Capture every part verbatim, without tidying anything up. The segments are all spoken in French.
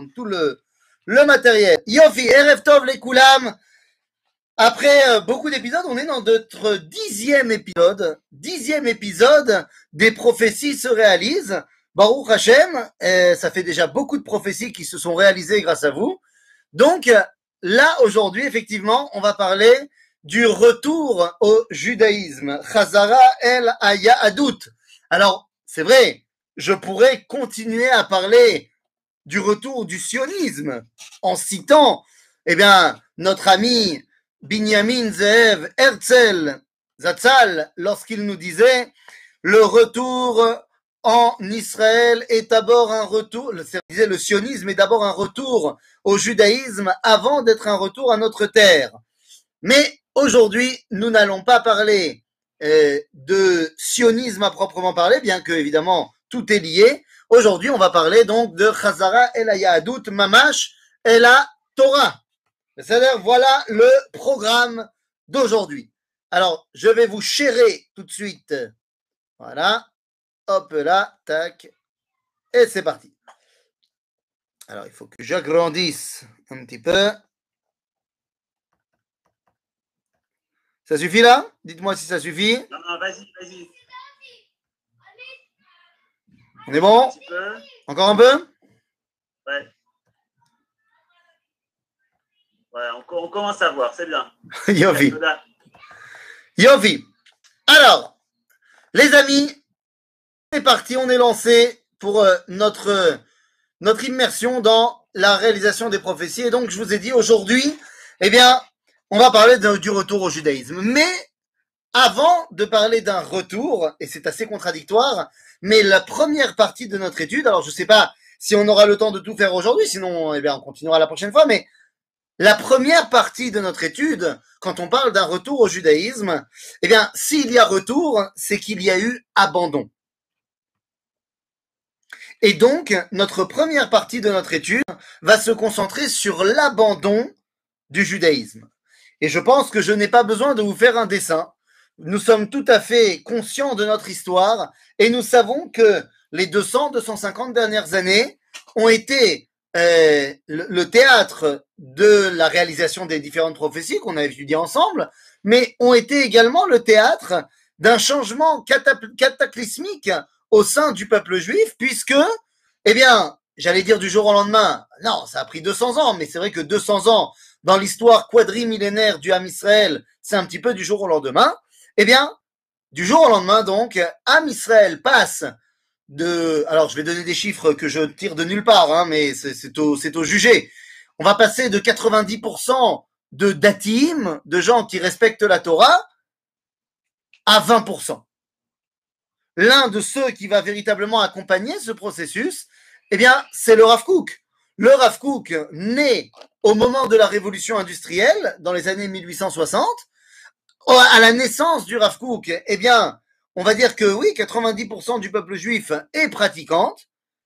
prendre tout le, le matériel. Yofi, Erev Tov les Koulam. Après euh, beaucoup d'épisodes, on est dans notre dixième épisode. Dixième épisode des prophéties se réalisent. Baruch Hashem, euh, ça fait déjà beaucoup de prophéties qui se sont réalisées grâce à vous. Donc là, aujourd'hui, effectivement, on va parler du retour au judaïsme. Chazara el Hayahadut. Alors, c'est vrai, je pourrais continuer à parler du retour du sionisme en citant, eh bien, notre ami Binyamin Zeev Herzl Zatzal lorsqu'il nous disait le retour en Israël est d'abord un retour, le, le sionisme est d'abord un retour au judaïsme avant d'être un retour à notre terre. Mais aujourd'hui, nous n'allons pas parler euh, de sionisme à proprement parler, bien que évidemment tout est lié. Aujourd'hui, on va parler donc de Chazara el Hayahadut Mamash et la Torah. C'est-à-dire, voilà le programme d'aujourd'hui. Alors, je vais vous chérer tout de suite. Voilà. Hop là, tac. Et c'est parti. Alors, il faut que j'agrandisse un petit peu. Ça suffit là? Dites-moi si ça suffit. Non, non, vas-y, vas-y. On est bon? Un petit peu. Encore un peu? Ouais. Ouais, on, on commence à voir, c'est bien. Yofi. Yofi. Alors, les amis, on est parti, on est lancé pour euh, notre, euh, notre immersion dans la réalisation des prophéties. Et donc, je vous ai dit aujourd'hui, eh bien, on va parler de, du retour au judaïsme. Mais avant de parler d'un retour, et c'est assez contradictoire, mais la première partie de notre étude, alors je ne sais pas si on aura le temps de tout faire aujourd'hui, sinon eh bien, on continuera la prochaine fois, mais la première partie de notre étude, quand on parle d'un retour au judaïsme, eh bien, s'il y a retour, c'est qu'il y a eu abandon. Et donc, notre première partie de notre étude va se concentrer sur l'abandon du judaïsme. Et je pense que je n'ai pas besoin de vous faire un dessin. Nous sommes tout à fait conscients de notre histoire et nous savons que les deux cents, deux cent cinquante dernières années ont été euh, le, le théâtre de la réalisation des différentes prophéties qu'on a étudiées ensemble, mais ont été également le théâtre d'un changement cataclysmique au sein du peuple juif, puisque, eh bien, j'allais dire du jour au lendemain, non, ça a pris deux cents ans, mais c'est vrai que deux cents ans dans l'histoire quadrimillénaire du Ham Israël, c'est un petit peu du jour au lendemain. Eh bien, du jour au lendemain, donc, Ham Israël passe de... Alors, je vais donner des chiffres que je tire de nulle part, hein, mais c'est, c'est, au, c'est au jugé. On va passer de quatre-vingt-dix pour cent de datim, de gens qui respectent la Torah, à vingt pour cent. L'un de ceux qui va véritablement accompagner ce processus, eh bien, c'est le Rav Kook. Le Rav Kook, né au moment de la révolution industrielle, dans les années mille huit cent soixante, à la naissance du Rav Kook, eh bien, on va dire que oui, quatre-vingt-dix pour cent du peuple juif est pratiquante.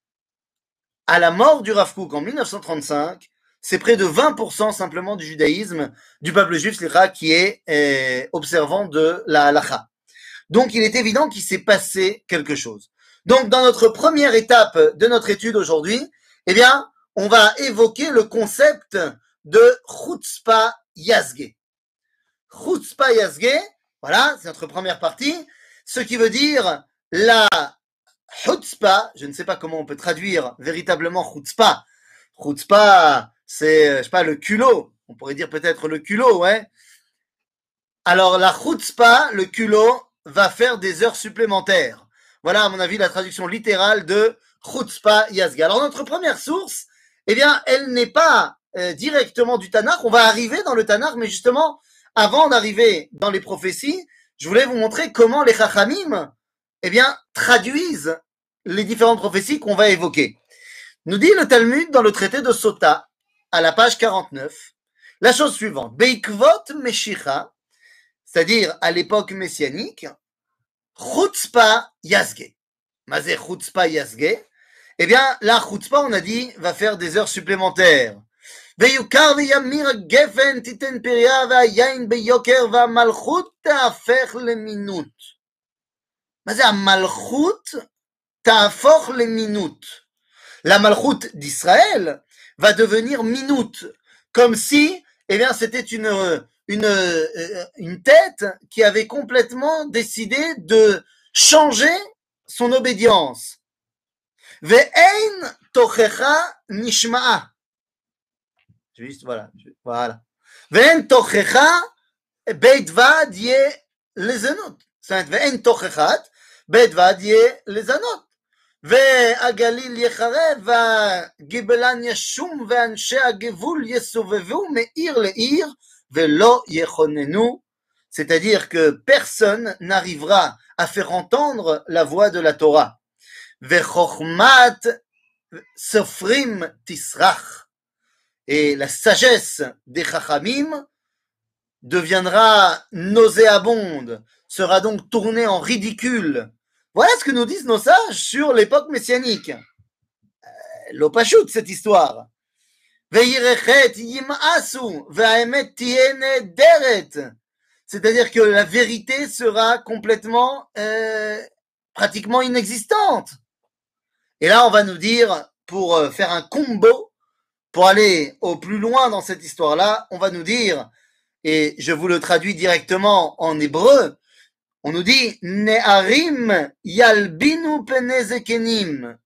À la mort du Rav Kook en mille neuf cent trente-cinq, c'est près de vingt pour cent simplement du judaïsme, du peuple juif, qui est eh, observant de la halacha. Donc, il est évident qu'il s'est passé quelque chose. Donc, dans notre première étape de notre étude aujourd'hui, eh bien, on va évoquer le concept de Chutzpah Yazgeh. Chutzpah Yazgeh, voilà, c'est notre première partie, ce qui veut dire la Chutzpah, je ne sais pas comment on peut traduire véritablement Chutzpah. Chutzpah, c'est, je sais pas, le culot. On pourrait dire peut-être le culot, ouais. Alors, la Chutzpah, le culot, va faire des heures supplémentaires. Voilà, à mon avis, la traduction littérale de Chutzpah Yazgeh. Alors, notre première source, eh bien, elle n'est pas euh, directement du Tanakh. On va arriver dans le Tanakh, mais justement, avant d'arriver dans les prophéties, je voulais vous montrer comment les Chachamim, eh bien, traduisent les différentes prophéties qu'on va évoquer. Nous dit le Talmud dans le traité de Sota, à la page quarante-neuf, la chose suivante. Beikvot Meshicha, c'est-à-dire à l'époque messianique, Chutzpah Yazgeh. Mazé Chutzpah Yazgeh. Eh bien, la Chutzpah, on a dit, va faire des heures supplémentaires. ויוכר וימיר הגפן תיתן פריה והיין ביוקר והמלכות תהפך למינות. מה זה המלכות תהפוך למינות? La malchoute d'Israël va devenir minute, comme si, eh bien, c'était une, une, une tête qui avait complètement décidé de changer son obédience. Ve'ein tochecha nishma'a. Juste, voilà, voilà. Ve'en tochecha beit vad ye lezanot. Ve'en tochet beit vad ye lezanot. והגליל יחרב, והגיבלן ישום, ואנשי הגבול יסובבו מעיר לעיר, ולא יכוננו. C'est-à-dire que personne n'arrivera à faire entendre la voix de la Torah. Vechokmat sofrim tisrach. Et la sagesse des chachamim deviendra nauséabonde, sera donc tournée en ridicule. Voilà ce que nous disent nos sages sur l'époque messianique. L'opachut, cette histoire. C'est-à-dire que la vérité sera complètement, euh, pratiquement inexistante. Et là, on va nous dire, pour faire un combo, pour aller au plus loin dans cette histoire-là, on va nous dire, et je vous le traduis directement en hébreu, on nous dit Ne'arim yalbinu pene zekenim.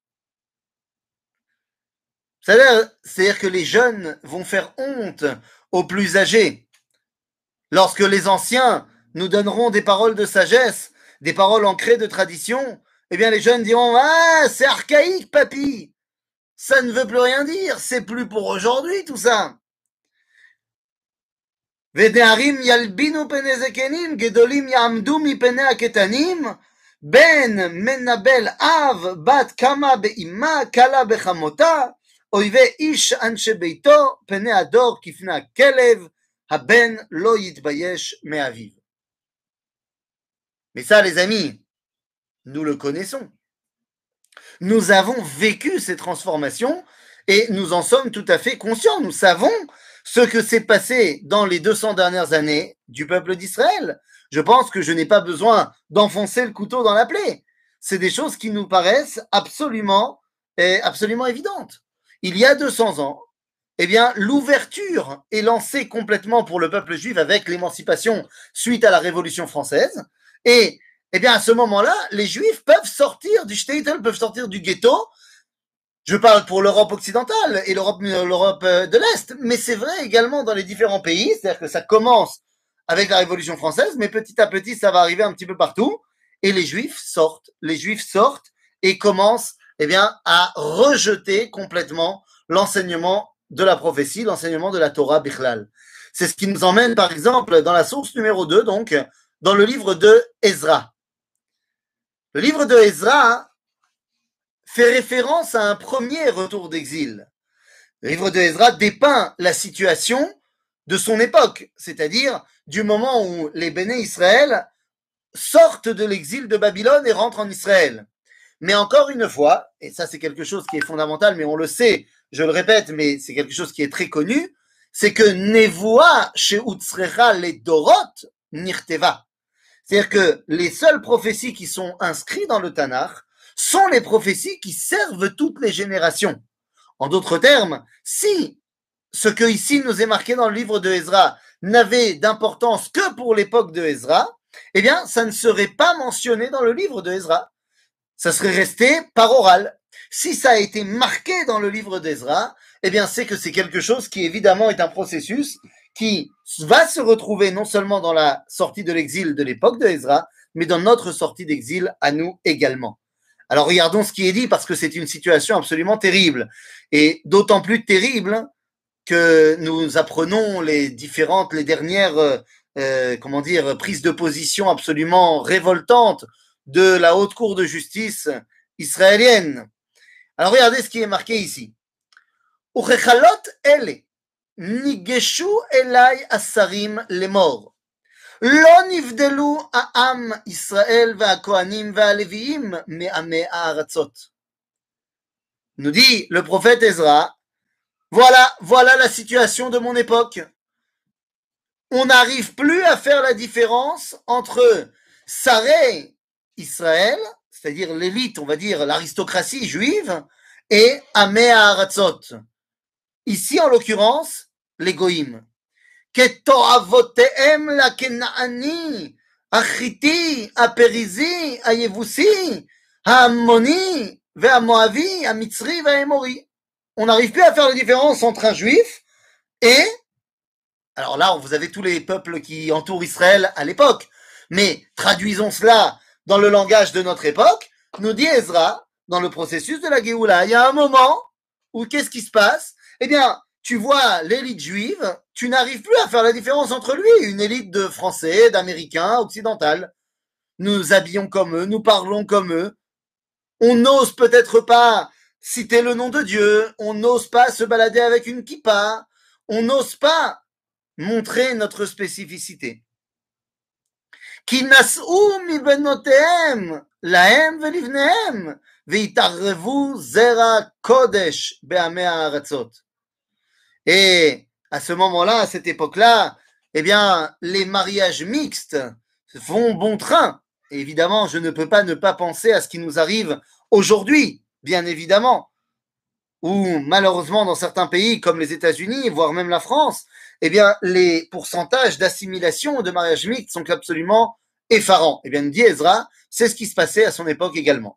C'est-à-dire, c'est-à-dire que les jeunes vont faire honte aux plus âgés. Lorsque les anciens nous donneront des paroles de sagesse, des paroles ancrées de tradition, eh bien les jeunes diront ah, c'est archaïque, papy. Ça ne veut plus rien dire, c'est plus pour aujourd'hui tout ça. ונערים ילבינו פני זקנים, גדולים יעמדו מפני הקטנים, בן מנבל אב, בת קמה באמה, קלה בחמותה, אויבי איש אנשי ביתו, פני הדור כפני הכלב, הבן לא יתבייש מאביו. Mais ça, les amis, nous le connaissons. Nous avons vécu ces transformations et nous en sommes tout à fait conscients. Nous savons ce que s'est passé dans les deux cents dernières années du peuple d'Israël. Je pense que je n'ai pas besoin d'enfoncer le couteau dans la plaie. C'est des choses qui nous paraissent absolument, eh, absolument évidentes. Il y a deux cents ans, eh bien, l'ouverture est lancée complètement pour le peuple juif avec l'émancipation suite à la Révolution française. Et, eh bien, à ce moment-là, les Juifs peuvent sortir du shtetl, peuvent sortir du ghetto. Je parle pour l'Europe occidentale et l'Europe, l'Europe de l'Est, mais c'est vrai également dans les différents pays, c'est-à-dire que ça commence avec la Révolution française, mais petit à petit, ça va arriver un petit peu partout, et les Juifs sortent, les Juifs sortent et commencent, eh bien, à rejeter complètement l'enseignement de la prophétie, l'enseignement de la Torah Bichlal. C'est ce qui nous emmène, par exemple, dans la source numéro deux, donc, dans le livre de Ezra. Le livre de Ezra fait référence à un premier retour d'exil. Le livre de Ezra dépeint la situation de son époque, c'est-à-dire du moment où les Béné Israël sortent de l'exil de Babylone et rentrent en Israël. Mais encore une fois, et ça c'est quelque chose qui est fondamental, mais on le sait, je le répète, mais c'est quelque chose qui est très connu, c'est que Nevoa chez Utsrecha les Dorot Nirteva. C'est-à-dire que les seules prophéties qui sont inscrites dans le Tanakh sont les prophéties qui servent toutes les générations. En d'autres termes, si ce que ici nous est marqué dans le livre de Ezra n'avait d'importance que pour l'époque de Ezra, eh bien, ça ne serait pas mentionné dans le livre de Ezra. Ça serait resté par oral. Si ça a été marqué dans le livre d'Ezra, eh bien, c'est que c'est quelque chose qui évidemment est un processus qui va se retrouver non seulement dans la sortie de l'exil de l'époque de Ezra, mais dans notre sortie d'exil à nous également. Alors regardons ce qui est dit parce que c'est une situation absolument terrible et d'autant plus terrible que nous apprenons les différentes, les dernières, euh, comment dire, prises de position absolument révoltantes de la haute cour de justice israélienne. Alors regardez ce qui est marqué ici. Uchechalot ele nigeshu elai asarim lemor. לא נבדלו העם ישראל והכהנים והלוויים מעמי הארצות. Nous dit le prophète Ezra, voilà, voilà la situation de mon époque. On n'arrive plus à faire la différence entre Saré Israël, c'est-à-dire l'élite, on va dire l'aristocratie juive, et Amé Haratzot, Ici, en l'occurrence, les goïms. כתועבותיהם לקנעני, החיתי, הפריזי, היבוסי, ההמוני והמואבי, המצרי והאמורי. On n'arrive plus à faire la différence entre un juif et, alors là, vous avez tous les peuples qui entourent Israël à l'époque, mais traduisons cela dans le langage de notre époque, nous dit Ezra, dans le processus de la Géoula, il y a un moment où qu'est-ce qui se passe? Eh bien, tu vois l'élite juive, tu n'arrives plus à faire la différence entre lui, une élite de Français, d'Américains, occidental. Nous habillons comme eux, nous parlons comme eux. On n'ose peut-être pas citer le nom de Dieu, on n'ose pas se balader avec une kippa, on n'ose pas montrer notre spécificité. Ki nas'u mi benotehem lahem velivnehem veitarrevu zera kodesh be'amei ha'aratzot. Et à ce moment-là, à cette époque-là, eh bien, les mariages mixtes font bon train. Et évidemment, je ne peux pas ne pas penser à ce qui nous arrive aujourd'hui, bien évidemment, où malheureusement, dans certains pays comme les États-Unis, voire même la France, eh bien, les pourcentages d'assimilation de mariages mixtes sont absolument effarants. Eh bien, nous dit Ezra, c'est ce qui se passait à son époque également.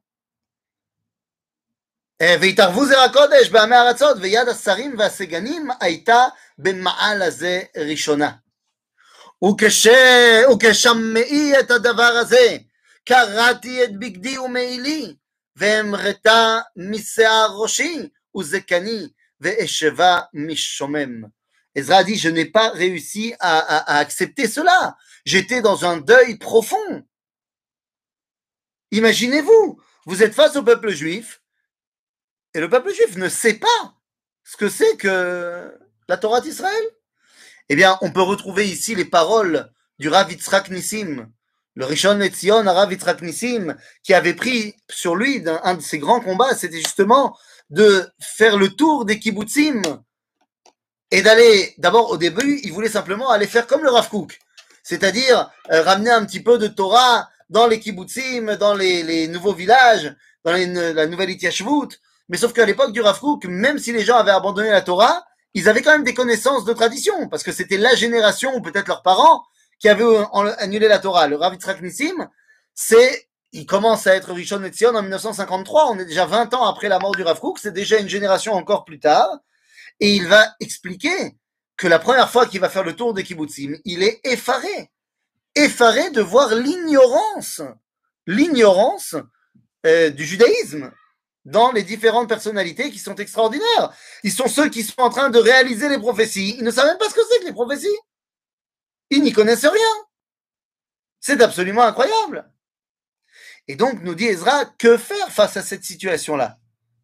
והתערבו זרע קודש בעמי הארצות ויד השרים והסגנים הייתה במעל הזה ראשונה. וכש... וכשמעי את הדבר הזה קראתי את בגדי ומעילי והמרתה משיער ראשי וזקני ואשבה משומם. Ezra dit, je n'ai pas réussi à, à, à accepter cela. J'étais dans un deuil profond. Imaginez-vous, vous êtes face au peuple juif. Et le peuple juif ne sait pas ce que c'est que la Torah d'Israël. Eh bien, on peut retrouver ici les paroles du Rav Yitzhak Nissim, le Rishon LeZion, Rav Yitzhak Nissim, qui avait pris sur lui d'un, un de ses grands combats, c'était justement de faire le tour des kibbutzim et d'aller, d'abord au début, il voulait simplement aller faire comme le Rav Kook, c'est-à-dire euh, ramener un petit peu de Torah dans les kibbutzim, dans les, les nouveaux villages, dans les, la nouvelle Ityashvut. Mais sauf qu'à l'époque du Rav Kook, même si les gens avaient abandonné la Torah, ils avaient quand même des connaissances de tradition, parce que c'était la génération, ou peut-être leurs parents, qui avaient annulé la Torah. Le Rav Yitzhak Nissim, c'est, il commence à être Rishon LeZion en mille neuf cent cinquante-trois, on est déjà vingt ans après la mort du Rav Kook, c'est déjà une génération encore plus tard, et il va expliquer que la première fois qu'il va faire le tour des kibbutzim, il est effaré, effaré de voir l'ignorance, l'ignorance euh, du judaïsme dans les différentes personnalités qui sont extraordinaires. Ils sont ceux qui sont en train de réaliser les prophéties. Ils ne savent même pas ce que c'est que les prophéties. Ils n'y connaissent rien. C'est absolument incroyable. Et donc, nous dit Ezra, que faire face à cette situation-là?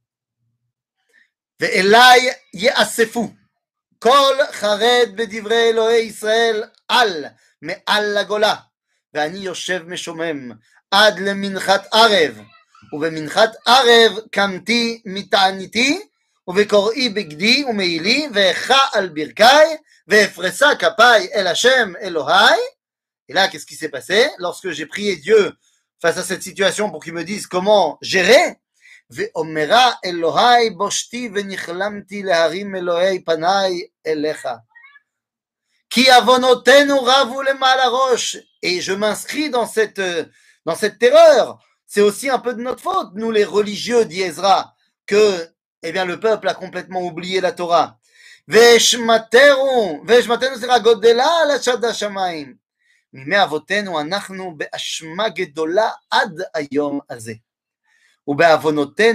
Ve'elai ye'asefu kol chared bedivrei Elohei Israel al me'al lagola ve'ani yoshev meshomem ad leminchat arev ובמנחת ערב קמתי מתעניתי ובקוראי בגדי ומעילי ואיכה על ברכי ואפרסה כפיי אל השם אלוהי. Et là, qu'est-ce qui s'est passé? Lorsque j'ai prié Dieu face à cette situation pour qu'il me dise comment gérer, ואומרה אלוהי בושתי ונכלמתי להרים אלוהי פניי אליך. כי עוונותינו רבו למעלה ראש. Et je m'inscris dans cette, dans cette terreur. C'est aussi un peu de notre faute, nous les religieux, dit Ezra, que eh bien, le peuple a complètement oublié la Torah. Veshmateru, veshmateru sera godela la shada shamayim. Mime avotenu anachnu be'ashma gedola ad hayom hazeh. ובעוונותינו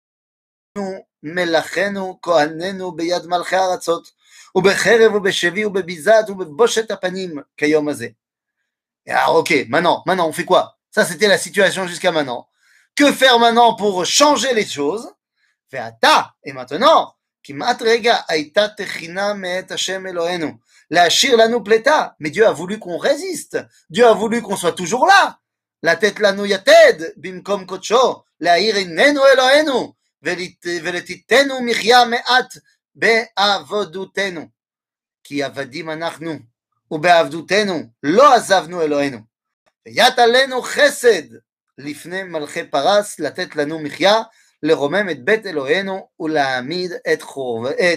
מלאכינו כהנינו ביד מלכי הארצות ובחרב ובשבי ובביזת ובבושת הפנים כיום הזה. Alors ok, maintenant, maintenant on fait quoi? Ça, c'était la situation jusqu'à maintenant. Que faire maintenant pour changer les choses? Ve'ata, et maintenant, kimat rega aita techina me'et Hashem Eloheinu, la'ashir lanu pleta. Mais Dieu a voulu qu'on résiste. Dieu a voulu qu'on soit toujours là. לתת לנו יתד במקום קודשו, להאיר עינינו אלוהינו, ולתיתנו מחיה מעט בעבודותנו. כי עבדים אנחנו, ובעבדותנו לא עזבנו אלוהינו. ויית עלינו חסד לפני מלכי פרס, לתת לנו מחיה, לרומם את בית אלוהינו ולהעמיד את, חורב, את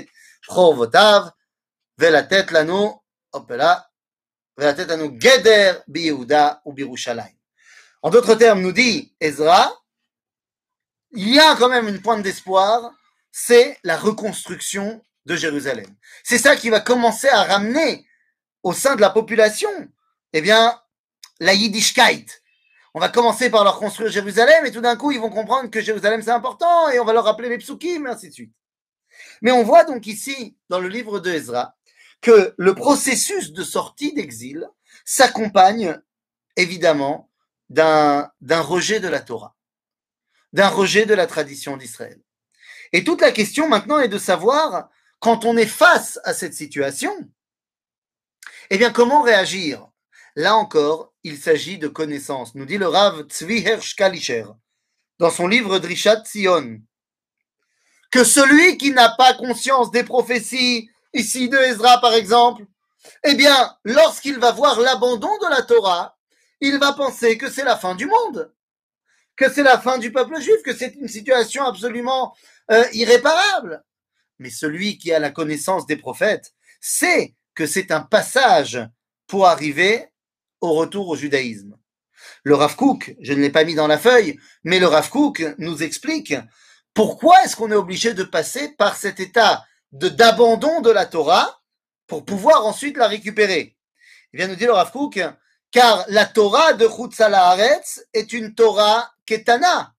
חורבותיו, ולתת לנו, hop là, ולתת לנו גדר ביהודה ובירושלים. En d'autres termes, nous dit Ezra, il y a quand même une pointe d'espoir, c'est la reconstruction de Jérusalem. C'est ça qui va commencer à ramener au sein de la population, eh bien, la Yiddishkeit. On va commencer par leur construire Jérusalem et tout d'un coup, ils vont comprendre que Jérusalem c'est important et on va leur rappeler les psukim et ainsi de suite. Mais on voit donc ici, dans le livre de Ezra, que le processus de sortie d'exil s'accompagne évidemment d'un, d'un rejet de la Torah, d'un rejet de la tradition d'Israël. Et toute la question maintenant est de savoir, quand on est face à cette situation, eh bien, comment réagir? Là encore, il s'agit de connaissances. Nous dit le Rav Tzvi Hersh Kalisher, dans son livre Drishat Sion, que celui qui n'a pas conscience des prophéties, ici de Ezra par exemple, eh bien, lorsqu'il va voir l'abandon de la Torah, il va penser que c'est la fin du monde, que c'est la fin du peuple juif, que c'est une situation absolument euh, irréparable. Mais celui qui a la connaissance des prophètes sait que c'est un passage pour arriver au retour au judaïsme. Le Rav Kook, je ne l'ai pas mis dans la feuille, mais le Rav Kook nous explique pourquoi est-ce qu'on est obligé de passer par cet état de, d'abandon de la Torah pour pouvoir ensuite la récupérer. Il vient nous dire le Rav Kook, car la Torah de Chutz Haaretz est une Torah Ketana.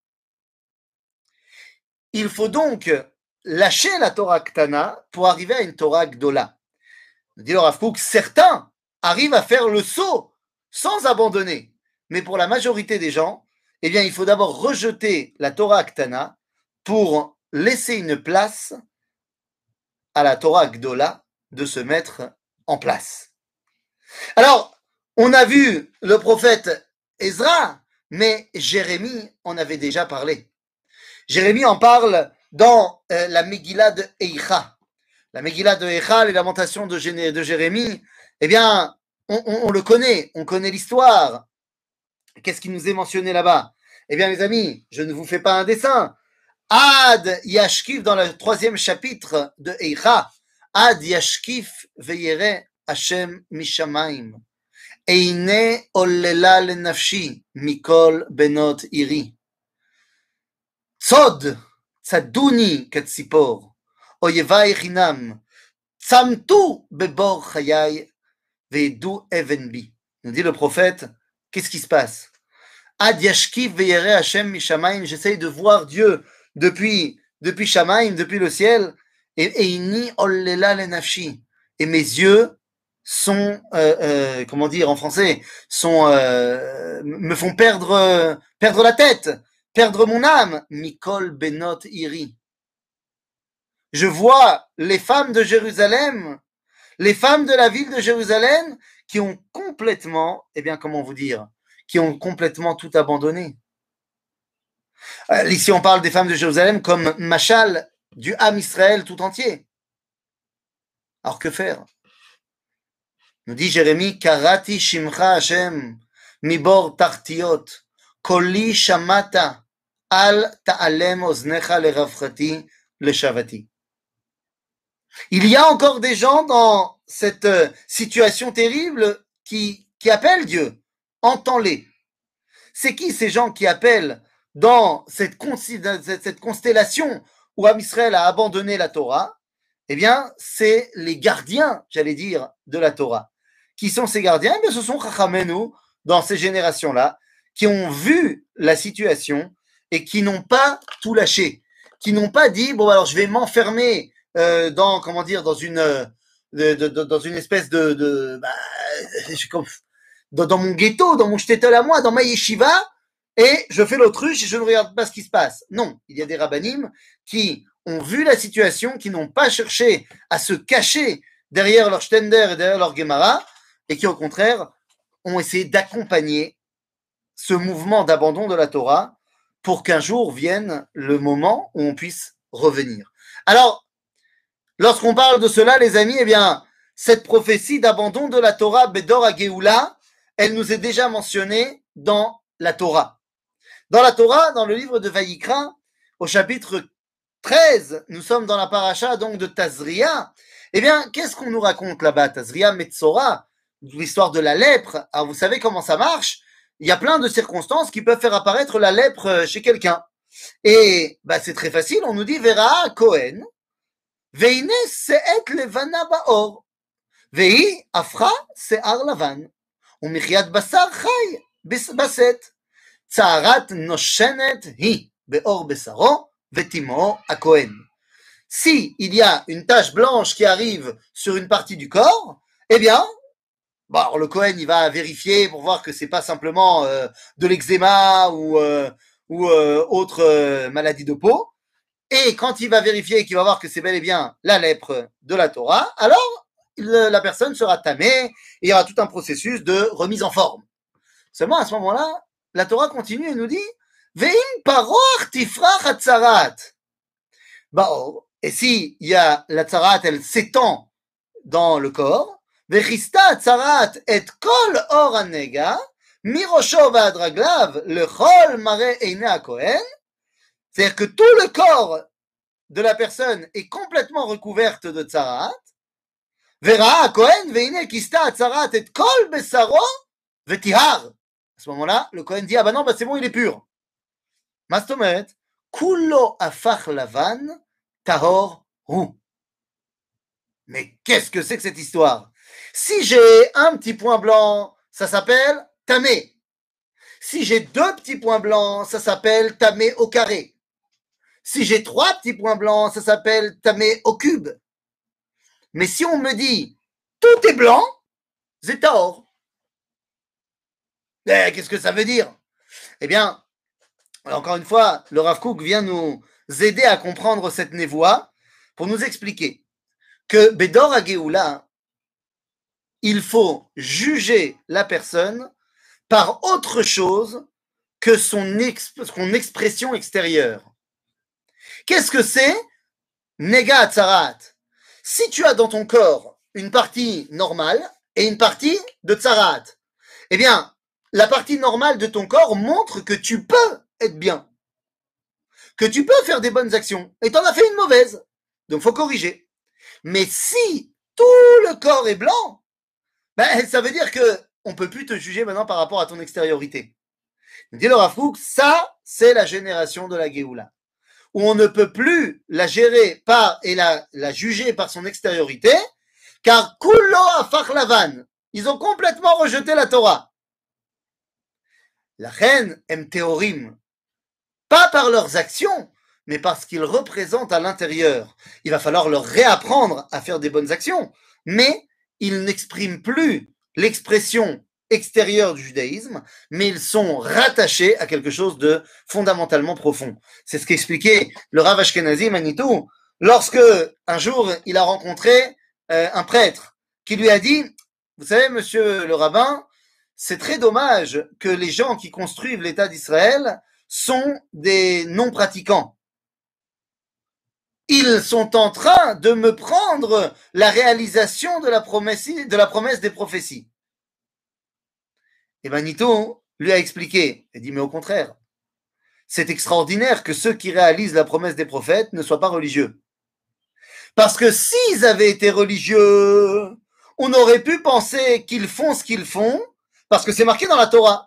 Il faut donc lâcher la Torah Ketana pour arriver à une Torah Gdola. Nous dit le Rav Kook, certains arrivent à faire le saut sans abandonner. Mais pour la majorité des gens, eh bien, il faut d'abord rejeter la Torah Ktana pour laisser une place à la Torah Gdola de se mettre en place. Alors, on a vu le prophète Ezra, mais Jérémie en avait déjà parlé. Jérémie en parle dans euh, la Megillah de Eicha. La Megillah de Eicha, les lamentations de, Gé- de Jérémie, eh bien, on, on, on le connaît, on connaît l'histoire. Qu'est-ce qui nous est mentionné là-bas? Eh bien, mes amis, je ne vous fais pas un dessin. Ad Yashkif, dans le troisième chapitre de Eicha, Ad Yashkif veyere Hashem mishamayim. Eine ollela lenafshi mikol benot iri. Tzod, tzaduni katzipor. Oyevai chinam. Tzamtu bebor chayai ve'edu even bi. Nous dit le prophète, qu'est-ce qui se passe? Ad yashkif veyere Hashem mishamayim. J'essaye de voir Dieu depuis, depuis Shamaim, depuis le ciel. Et inni ollela lenafshi. Et mes yeux sont, euh, euh, comment dire en français, sont, euh, me font perdre, euh, perdre la tête, perdre mon âme. Mikol benot iri. Je vois les femmes de Jérusalem, les femmes de la ville de Jérusalem qui ont complètement, eh bien, comment vous dire, qui ont complètement tout abandonné. Euh, ici, on parle des femmes de Jérusalem comme machal du Ham Israël tout entier. Alors, que faire? Nous dit Jérémie, Karati Shimcha Hashem, Mibor Tartiot, Koli Shamata, Al Ta'alem Oznecha Leravchati, Leshavati. Il y a encore des gens dans cette situation terrible qui, qui appellent Dieu. Entends-les. C'est qui ces gens qui appellent dans cette, cette constellation où Am Israël a abandonné la Torah? Eh bien, c'est les gardiens, j'allais dire, de la Torah. Qui sont ces gardiens? Eh bien, ce sont Chachamenu, dans ces générations-là, qui ont vu la situation et qui n'ont pas tout lâché, qui n'ont pas dit, bon, alors je vais m'enfermer euh, dans, comment dire, dans une, euh, de, de, de, dans une espèce de, de bah, je, dans, dans mon ghetto, dans mon shtetl à moi, dans ma yeshiva, et je fais l'autruche et je ne regarde pas ce qui se passe. Non, il y a des rabbanim qui ont vu la situation, qui n'ont pas cherché à se cacher derrière leur Stender et derrière leur Gemara, et qui, au contraire, ont essayé d'accompagner ce mouvement d'abandon de la Torah pour qu'un jour vienne le moment où on puisse revenir. Alors, lorsqu'on parle de cela, les amis, eh bien, cette prophétie d'abandon de la Torah, Bedor HaGeoula, elle nous est déjà mentionnée dans la Torah. Dans la Torah, dans le livre de Vayikra, au chapitre treize, nous sommes dans la paracha donc de Tazria. Eh bien, qu'est-ce qu'on nous raconte là-bas? Tazria Metzora, l'histoire de la lèpre. Alors, vous savez comment ça marche? Il y a plein de circonstances qui peuvent faire apparaître la lèpre chez quelqu'un. Et bah, c'est très facile, on nous dit Vera Cohen, Veine Seet Levana Baor, Vei Afra Se'ar Lavan, Umichiat Basar Chai Baset, Tzaharat Noshenet Hi Beor Besaro, Vetimo a Cohen. Si il y a une tache blanche qui arrive sur une partie du corps, eh bien, bon, alors le Cohen il va vérifier pour voir que c'est pas simplement euh, de l'eczéma ou euh, ou euh, autre euh, maladie de peau. Et quand il va vérifier qu'il va voir que c'est bel et bien la lèpre de la Torah, alors le, la personne sera tamée et il y aura tout un processus de remise en forme. Seulement à ce moment-là, la Torah continue et nous dit Ve'im paroch tifrach hatzarat. Baor. Et si il y a la tzarat, elle s'étend dans le corps, Vechista hatzarat et kol or hanega, mirosho va'ad raglav lechol mare eine hakohen. C'est-à-dire que tout le corps de la personne est complètement recouverte de tzarat. Vera Cohen veine kista tzarat et kol besaro vetihar. À ce moment-là, le Cohen dit ah bah non bah c'est bon il est pur. Mastomet kulo afach lavan tahor hu. Mais qu'est-ce que c'est que cette histoire? Si j'ai un petit point blanc, ça s'appelle tamé. Si j'ai deux petits points blancs, ça s'appelle tamé au carré. Si j'ai trois petits points blancs, ça s'appelle tamé au cube. Mais si on me dit tout est blanc, c'est tahor. Eh, qu'est-ce que ça veut dire? Eh bien, encore une fois, le Rav Kook vient nous aider à comprendre cette névoie pour nous expliquer que Bedor HaGeoula, il faut juger la personne par autre chose que son, exp- son expression extérieure. Qu'est-ce que c'est? Nega Hatzarat. Si tu as dans ton corps une partie normale et une partie de Tzarat, eh bien, la partie normale de ton corps montre que tu peux être bien, que tu peux faire des bonnes actions, et t'en as fait une mauvaise. Donc, faut corriger. Mais si tout le corps est blanc, ben, ça veut dire que on peut plus te juger maintenant par rapport à ton extériorité. Dit le Rav Kook, ça, c'est la génération de la Géoula, où on ne peut plus la gérer par et la, la juger par son extériorité, car Kulo Afach Lavan, ils ont complètement rejeté la Torah. La reine aime théorim, pas par leurs actions, mais parce qu'ils représentent à l'intérieur. Il va falloir leur réapprendre à faire des bonnes actions, mais ils n'expriment plus l'expression extérieure du judaïsme, mais ils sont rattachés à quelque chose de fondamentalement profond. C'est ce qu'expliquait le Rav Ashkenazi Manitou lorsque un jour il a rencontré euh, un prêtre qui lui a dit, vous savez monsieur le rabbin, c'est très dommage que les gens qui construisent l'État d'Israël sont des non-pratiquants. Ils sont en train de me prendre la réalisation de la promesse, de la promesse des prophéties. Et Manitou lui a expliqué, il dit mais au contraire, c'est extraordinaire que ceux qui réalisent la promesse des prophètes ne soient pas religieux. Parce que s'ils avaient été religieux, on aurait pu penser qu'ils font ce qu'ils font parce que c'est marqué dans la Torah.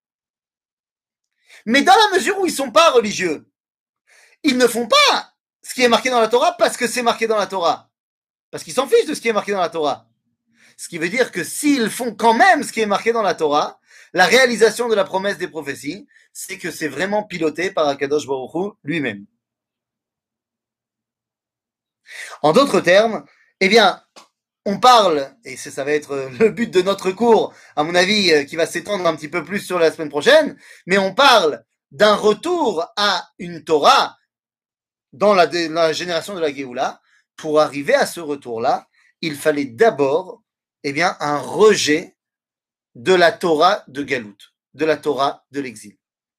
Mais dans la mesure où ils ne sont pas religieux, ils ne font pas ce qui est marqué dans la Torah parce que c'est marqué dans la Torah. Parce qu'ils s'en fichent de ce qui est marqué dans la Torah. Ce qui veut dire que s'ils font quand même ce qui est marqué dans la Torah, la réalisation de la promesse des prophéties, c'est que c'est vraiment piloté par Akadosh Baruch Hu lui-même. En d'autres termes, eh bien, on parle, et ça va être le but de notre cours, à mon avis, qui va s'étendre un petit peu plus sur la semaine prochaine, mais on parle d'un retour à une Torah dans la, la génération de la Géoula. Pour arriver à ce retour-là, il fallait d'abord, eh bien, un rejet de la Torah de Galout, de la Torah de l'exil.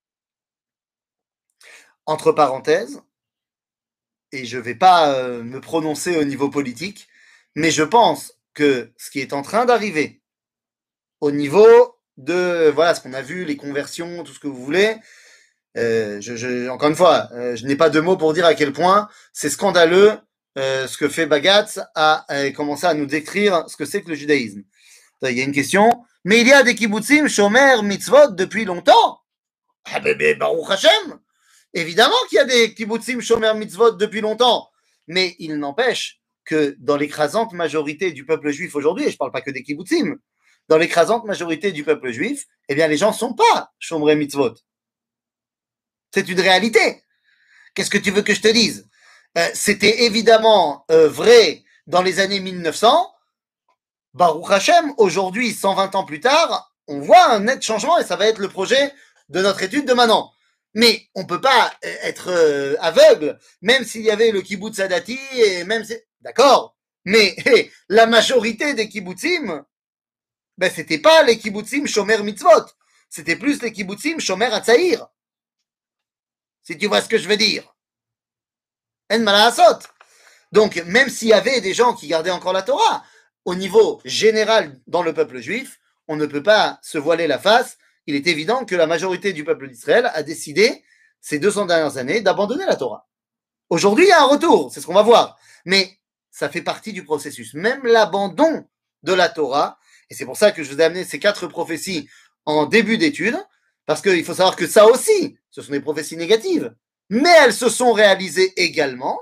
Entre parenthèses, et je ne vais pas euh, me prononcer au niveau politique, mais je pense que ce qui est en train d'arriver au niveau de, voilà, ce qu'on a vu, les conversions, tout ce que vous voulez, Euh, je, je, encore une fois, euh, je n'ai pas de mots pour dire à quel point c'est scandaleux euh, ce que fait Bagatz à, à commencer à nous décrire ce que c'est que le judaïsme. Il y a une question, mais il y a des kibbutzim, shomer, mitzvot depuis longtemps. Ah ben, ben Baruch Hashem. Évidemment qu'il y a des kibbutzim, shomer, mitzvot depuis longtemps, mais il n'empêche que dans l'écrasante majorité du peuple juif aujourd'hui, et je ne parle pas que des kibbutzim, dans l'écrasante majorité du peuple juif, eh bien les gens ne sont pas shomer mitzvot. C'est une réalité. Qu'est-ce que tu veux que je te dise? euh, C'était évidemment euh, vrai dans les années mille neuf cents. Baruch Hashem, aujourd'hui, cent vingt ans plus tard, on voit un net changement et ça va être le projet de notre étude de maintenant. Mais on ne peut pas être euh, aveugle, même s'il y avait le kibbutz Sadati, et même si... D'accord, mais hey, la majorité des kibbutzim, ben, c'était pas les kibbutzim shomer mitzvot, c'était plus les kibbutzim shomer atzaïr. Si tu vois ce que je veux dire. En malasot. Donc, même s'il y avait des gens qui gardaient encore la Torah, au niveau général dans le peuple juif, on ne peut pas se voiler la face. Il est évident que la majorité du peuple d'Israël a décidé, ces deux cents dernières années, d'abandonner la Torah. Aujourd'hui, il y a un retour, c'est ce qu'on va voir. Mais ça fait partie du processus. Même l'abandon de la Torah, et c'est pour ça que je vous ai amené ces quatre prophéties en début d'étude, parce qu'il faut savoir que ça aussi, ce sont des prophéties négatives, mais elles se sont réalisées également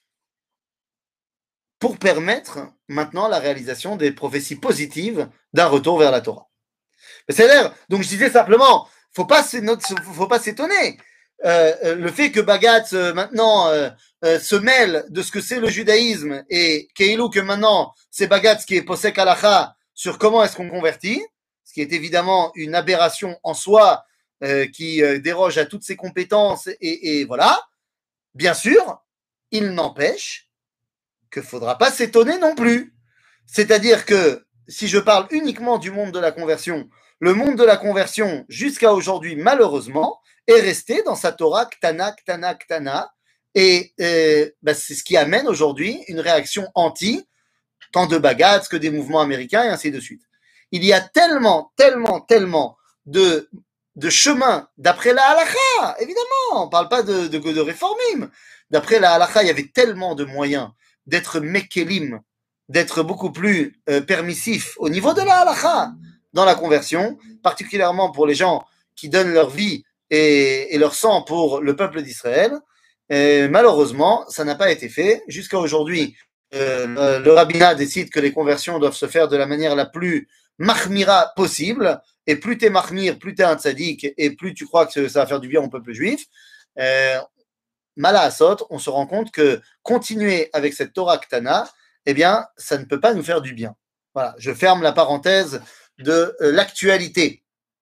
pour permettre maintenant la réalisation des prophéties positives d'un retour vers la Torah. C'est-à-dire, donc je disais simplement, faut pas faut pas s'étonner. Euh, le fait que Bagatz euh, maintenant euh, euh, se mêle de ce que c'est le judaïsme et Keilou que maintenant c'est Bagatz qui est posek halacha sur comment est-ce qu'on convertit, ce qui est évidemment une aberration en soi euh, qui euh, déroge à toutes ses compétences et, et voilà. Bien sûr, il n'empêche qu'il ne faudra pas s'étonner non plus. C'est-à-dire que si je parle uniquement du monde de la conversion, le monde de la conversion jusqu'à aujourd'hui, malheureusement, est resté dans sa Torah Ktana, Ktana, Ktana, et euh, bah, c'est ce qui amène aujourd'hui une réaction anti, tant de Bagatz que des mouvements américains et ainsi de suite. Il y a tellement, tellement, tellement de, de chemins d'après la halakha, évidemment, on ne parle pas de, de, de réformim. D'après la halakha, il y avait tellement de moyens d'être mekelim, d'être beaucoup plus euh, permissif au niveau de la halakha dans la conversion, particulièrement pour les gens qui donnent leur vie et, et leur sang pour le peuple d'Israël. Et malheureusement, ça n'a pas été fait. Jusqu'à aujourd'hui, euh, le, le rabbinat décide que les conversions doivent se faire de la manière la plus mahmira possible. Et plus t'es mahmir, plus t'es un tzaddik, et plus tu crois que ça va faire du bien au peuple juif. Euh, Malaasot, on se rend compte que continuer avec cette Torah Ktana, eh bien, ça ne peut pas nous faire du bien. Voilà, je ferme la parenthèse de euh, l'actualité.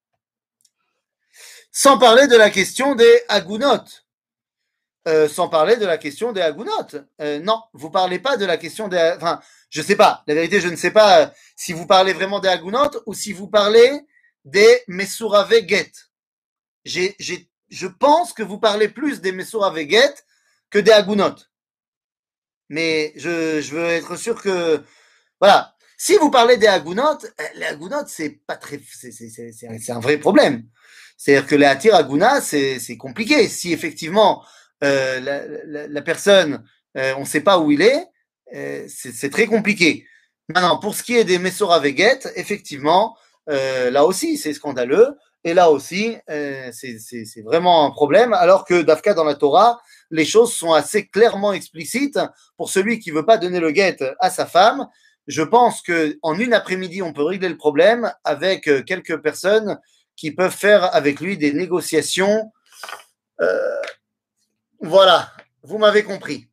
Sans parler de la question des Agunot. Euh, sans parler de la question des Agunot. Euh, non, vous parlez pas de la question des... Enfin, je sais pas. La vérité, je ne sais pas euh, si vous parlez vraiment des Agunot ou si vous parlez des Mesurave Get. J'ai, j'ai, je pense que vous parlez plus des Mesurave Get que des Agunot. Mais je, je veux être sûr que... Voilà. Si vous parlez des Agunot, les Agunot, c'est pas très... C'est, c'est, c'est, c'est un vrai problème. C'est-à-dire que les Atir Aguna, c'est, c'est compliqué. Si effectivement... Euh, la, la, la personne, euh, on ne sait pas où il est, euh, c'est, c'est très compliqué. Maintenant, pour ce qui est des Messora Veget, effectivement, euh, là aussi, c'est scandaleux. Et là aussi, euh, c'est, c'est, c'est vraiment un problème. Alors que Dafka, dans la Torah, les choses sont assez clairement explicites. Pour celui qui ne veut pas donner le guet à sa femme, je pense qu'en une après-midi, on peut régler le problème avec quelques personnes qui peuvent faire avec lui des négociations. Euh, Voilà, vous m'avez compris.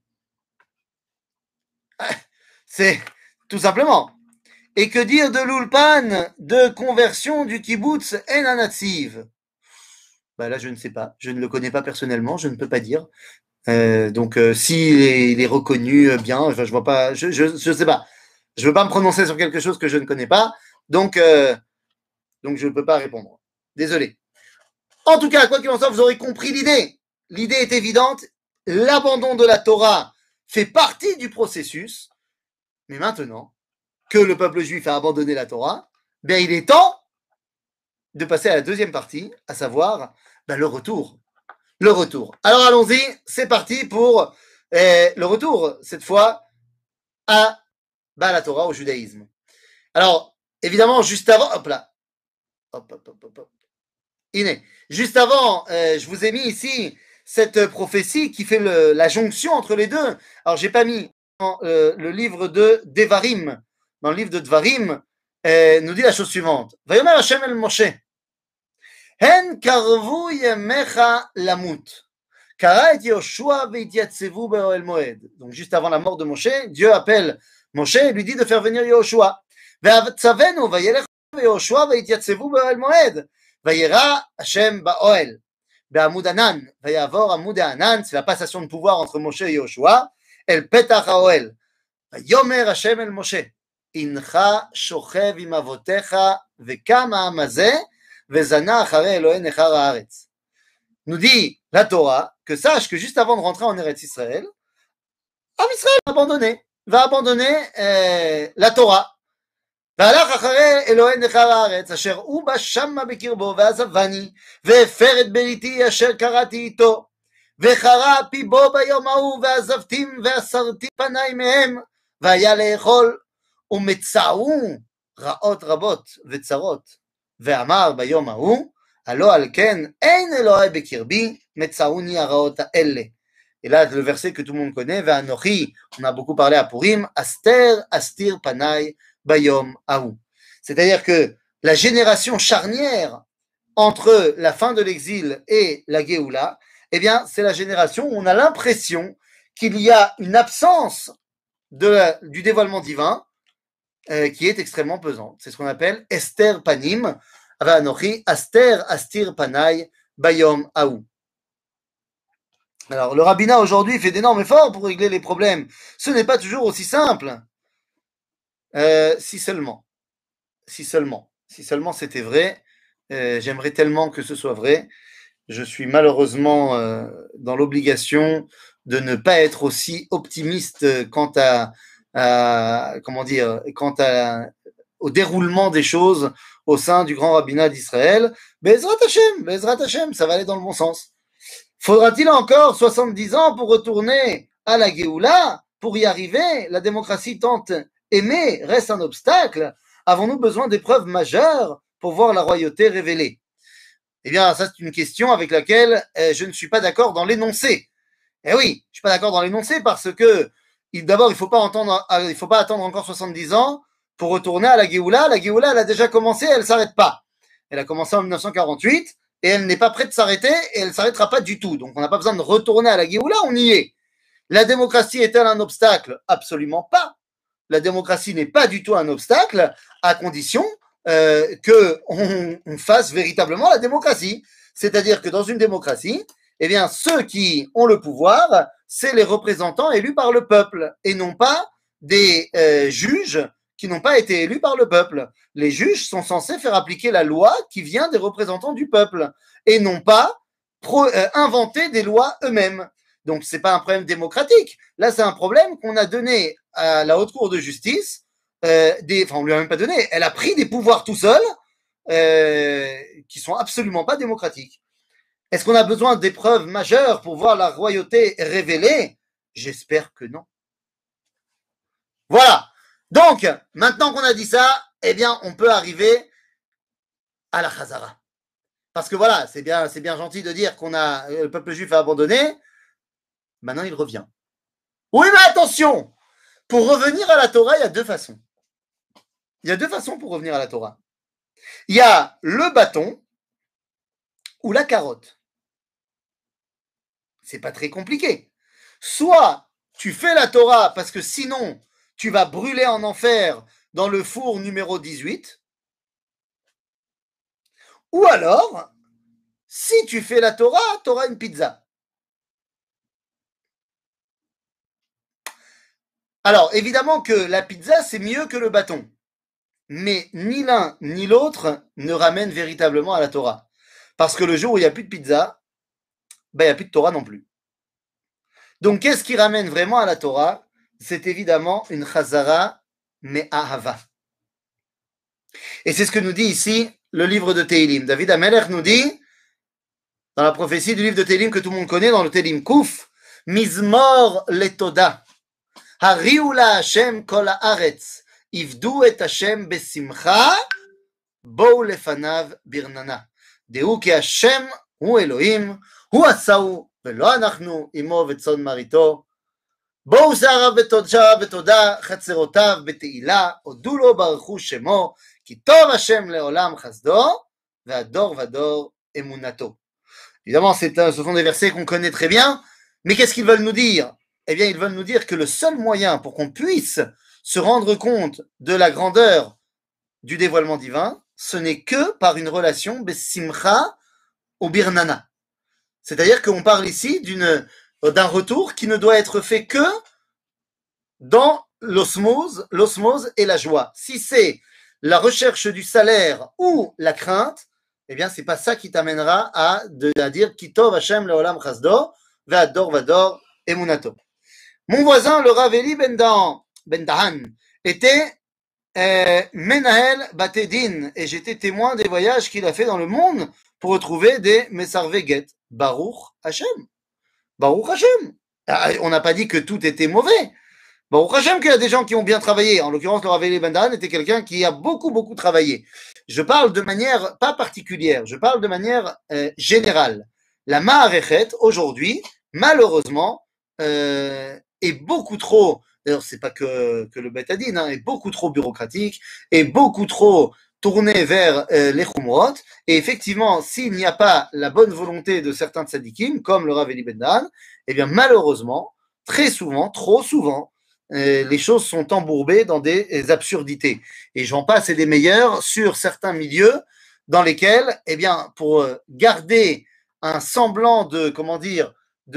C'est tout simplement. Et que dire de l'ulpan de conversion du kibbutz en anatsiv? Ben là, je ne sais pas. Je ne le connais pas personnellement, je ne peux pas dire. Euh, donc, euh, s'il est, il est reconnu euh, bien, enfin, je vois pas. Je, je, je sais pas. Je veux pas me prononcer sur quelque chose que je ne connais pas. Donc, euh, donc je ne peux pas répondre. Désolé. En tout cas, quoi qu'il en soit, vous aurez compris l'idée. L'idée est évidente. L'abandon de la Torah fait partie du processus, mais maintenant que le peuple juif a abandonné la Torah, bien il est temps de passer à la deuxième partie, à savoir ben, le retour. le retour. Alors allons-y, c'est parti pour euh, le retour, cette fois, à bah, la Torah, au judaïsme. Alors, évidemment, juste avant, hop là, hop, hop, hop, hop, hop. Iné. Juste avant, euh, je vous ai mis ici cette prophétie qui fait le, la jonction entre les deux. Alors, j'ai pas mis dans euh, le livre de Devarim. Dans le livre de Devarim, euh, nous dit la chose suivante. Vayomer Hashem el Moshe. Hen karvu yemecha lamut. Kara et Yoshua veitiatsevu be'oel moed. Donc, juste avant la mort de Moshe, Dieu appelle Moshe et lui dit de faire venir Yoshua. Ve'atzavenu vayelech Yoshua veitiatsevu be'oel moed. Vayera Hashem ba'oel. Be'amud Anan. Vayavor amud Anan. C'est la passation de pouvoir entre Moshe et Yoshua. El petach ha'oel. Vayomer Hashem el Moshe. Incha shochev im avotecha vekam ha'am hazeh vezana acharei Elohei nechar haaretz. Nous dit la Torah que sache que juste avant de rentrer en Eretz Israël, Am Israël va abandonner, va abandonner euh, la Torah. והלך אחרי אלוהי נכר הארץ, אשר הוא בה שמה בקרבו, ועזבני, והפר את בריתי אשר קראתי איתו, וחרה פי בו ביום ההוא, ועזבתים ואסרתי פניי מהם, והיה לאכול, ומצאו רעות רבות וצרות, ואמר ביום ההוא, הלא על כן אין אלוהי בקרבי, מצאוני הרעות האלה. Et là, le verset que tout le monde connaît, Ve'anochi, on a beaucoup parlé à Purim, Aster, Astir, Panay, Bayom, Aou. C'est-à-dire que la génération charnière entre la fin de l'exil et la Géoula, eh bien, c'est la génération où on a l'impression qu'il y a une absence de la, du dévoilement divin euh, qui est extrêmement pesante. C'est ce qu'on appelle Esther Panim, Ve'anochi, Aster, Astir, Panay, Bayom, Aou. Alors, le rabbinat aujourd'hui fait d'énormes efforts pour régler les problèmes. Ce n'est pas toujours aussi simple. Euh, si seulement. Si seulement. Si seulement c'était vrai. Euh, j'aimerais tellement que ce soit vrai. Je suis malheureusement euh, dans l'obligation de ne pas être aussi optimiste quant à, à comment dire, quant à, au déroulement des choses au sein du grand rabbinat d'Israël. Bezrat Hashem, Bezrat Hashem, ça va aller dans le bon sens. Faudra-t-il encore soixante-dix ans pour retourner à la Géoula, pour y arriver? La démocratie tant aimée reste un obstacle. Avons-nous besoin d'épreuves majeures pour voir la royauté révélée? Eh bien, ça, c'est une question avec laquelle euh, je ne suis pas d'accord dans l'énoncé. Eh oui, je ne suis pas d'accord dans l'énoncé parce que, d'abord, il ne faut pas entendre, il faut pas attendre encore soixante-dix ans pour retourner à la Géoula. La Géoula, elle a déjà commencé, elle ne s'arrête pas. Elle a commencé en mille neuf cent quarante-huit. Et elle n'est pas prête de s'arrêter, et elle ne s'arrêtera pas du tout. Donc on n'a pas besoin de retourner à la Géoula, on y est. La démocratie est-elle un obstacle? Absolument pas. La démocratie n'est pas du tout un obstacle, à condition euh, qu'on on fasse véritablement la démocratie. C'est-à-dire que dans une démocratie, eh bien, ceux qui ont le pouvoir, c'est les représentants élus par le peuple, et non pas des euh, juges qui n'ont pas été élus par le peuple. Les juges sont censés faire appliquer la loi qui vient des représentants du peuple et non pas pro, euh, inventer des lois eux-mêmes. Donc, ce n'est pas un problème démocratique. Là, c'est un problème qu'on a donné à la Haute Cour de justice. Euh, des, enfin, on ne lui a même pas donné. Elle a pris des pouvoirs tout seul euh, qui ne sont absolument pas démocratiques. Est-ce qu'on a besoin d'épreuves majeures pour voir la royauté révélée? J'espère que non. Voilà. Donc, maintenant qu'on a dit ça, eh bien, on peut arriver à la Chazara. Parce que voilà, c'est bien, c'est bien gentil de dire qu'on a, le peuple juif a abandonné. Maintenant, il revient. Oui, mais attention! Pour revenir à la Torah, il y a deux façons. Il y a deux façons pour revenir à la Torah. Il y a le bâton ou la carotte. C'est pas très compliqué. Soit tu fais la Torah parce que sinon, tu vas brûler en enfer dans le four numéro dix-huit. Ou alors, si tu fais la Torah, tu auras une pizza. Alors, évidemment que la pizza, c'est mieux que le bâton. Mais ni l'un ni l'autre ne ramènent véritablement à la Torah. Parce que le jour où il n'y a plus de pizza, ben, il n'y a plus de Torah non plus. Donc, qu'est-ce qui ramène vraiment à la Torah? C'est évidemment une chazara me'ahava. Et c'est ce que nous dit ici le livre de Tehilim. David Amelech nous dit dans la prophétie du livre de Télim que tout le monde connaît, dans le Télim Kouf, Mizmor letoda. Hariu la Hashem kol haaretz, ivdu et Hashem besimcha, bou lefanav birnana. Deu ki Hashem hu Elohim, hu asau, velo anachnu imo vetzon marito. בואו שעריו בתודה, חצרותיו בתהילה, הודו לו ברכו שמו, כי טוב השם לעולם חסדו, והדור ודור אמונתו. Évidemment, c'est un, ce sont des versets qu'on connaît très bien, mais qu'est-ce qu'ils veulent nous dire? Eh bien, ils veulent nous dire que le seul moyen pour qu'on puisse se rendre compte de la grandeur du dévoilement divin, ce n'est que par une relation besimcha ou birnana. C'est-à-dire qu'on parle ici d'une d'un retour qui ne doit être fait que dans l'osmose, l'osmose et la joie. Si c'est la recherche du salaire ou la crainte, eh bien, c'est pas ça qui t'amènera à, de, à dire Kitov Hashem leolam chasdo, ve'ador vador emunato. Mon voisin, le Rav Eli Ben Dahan, Ben Dahan était euh, Menahel Batedin, et j'étais témoin des voyages qu'il a fait dans le monde pour retrouver des Mesarveget. Baruch Hashem. Baruch Hashem. On n'a pas dit que tout était mauvais. Baruch Hashem qu'il y a des gens qui ont bien travaillé. En l'occurrence, le Rav Eli Ben Dahan était quelqu'un qui a beaucoup, beaucoup travaillé. Je parle de manière pas particulière, je parle de manière euh, générale. La Ma'arechet, aujourd'hui, malheureusement, euh, est beaucoup trop, d'ailleurs, c'est pas que, que le Beth Hadin, hein, est beaucoup trop bureaucratique, est beaucoup trop tourné vers euh, les Khumrot, et effectivement, s'il n'y a pas la bonne volonté de certains tzadikim, comme le Rav Eli Ben Dahan, eh bien, malheureusement, très souvent, trop souvent, euh, les choses sont embourbées dans des, des absurdités. Et j'en passe et des meilleurs sur certains milieux dans lesquels, eh bien, pour garder un semblant de, comment dire,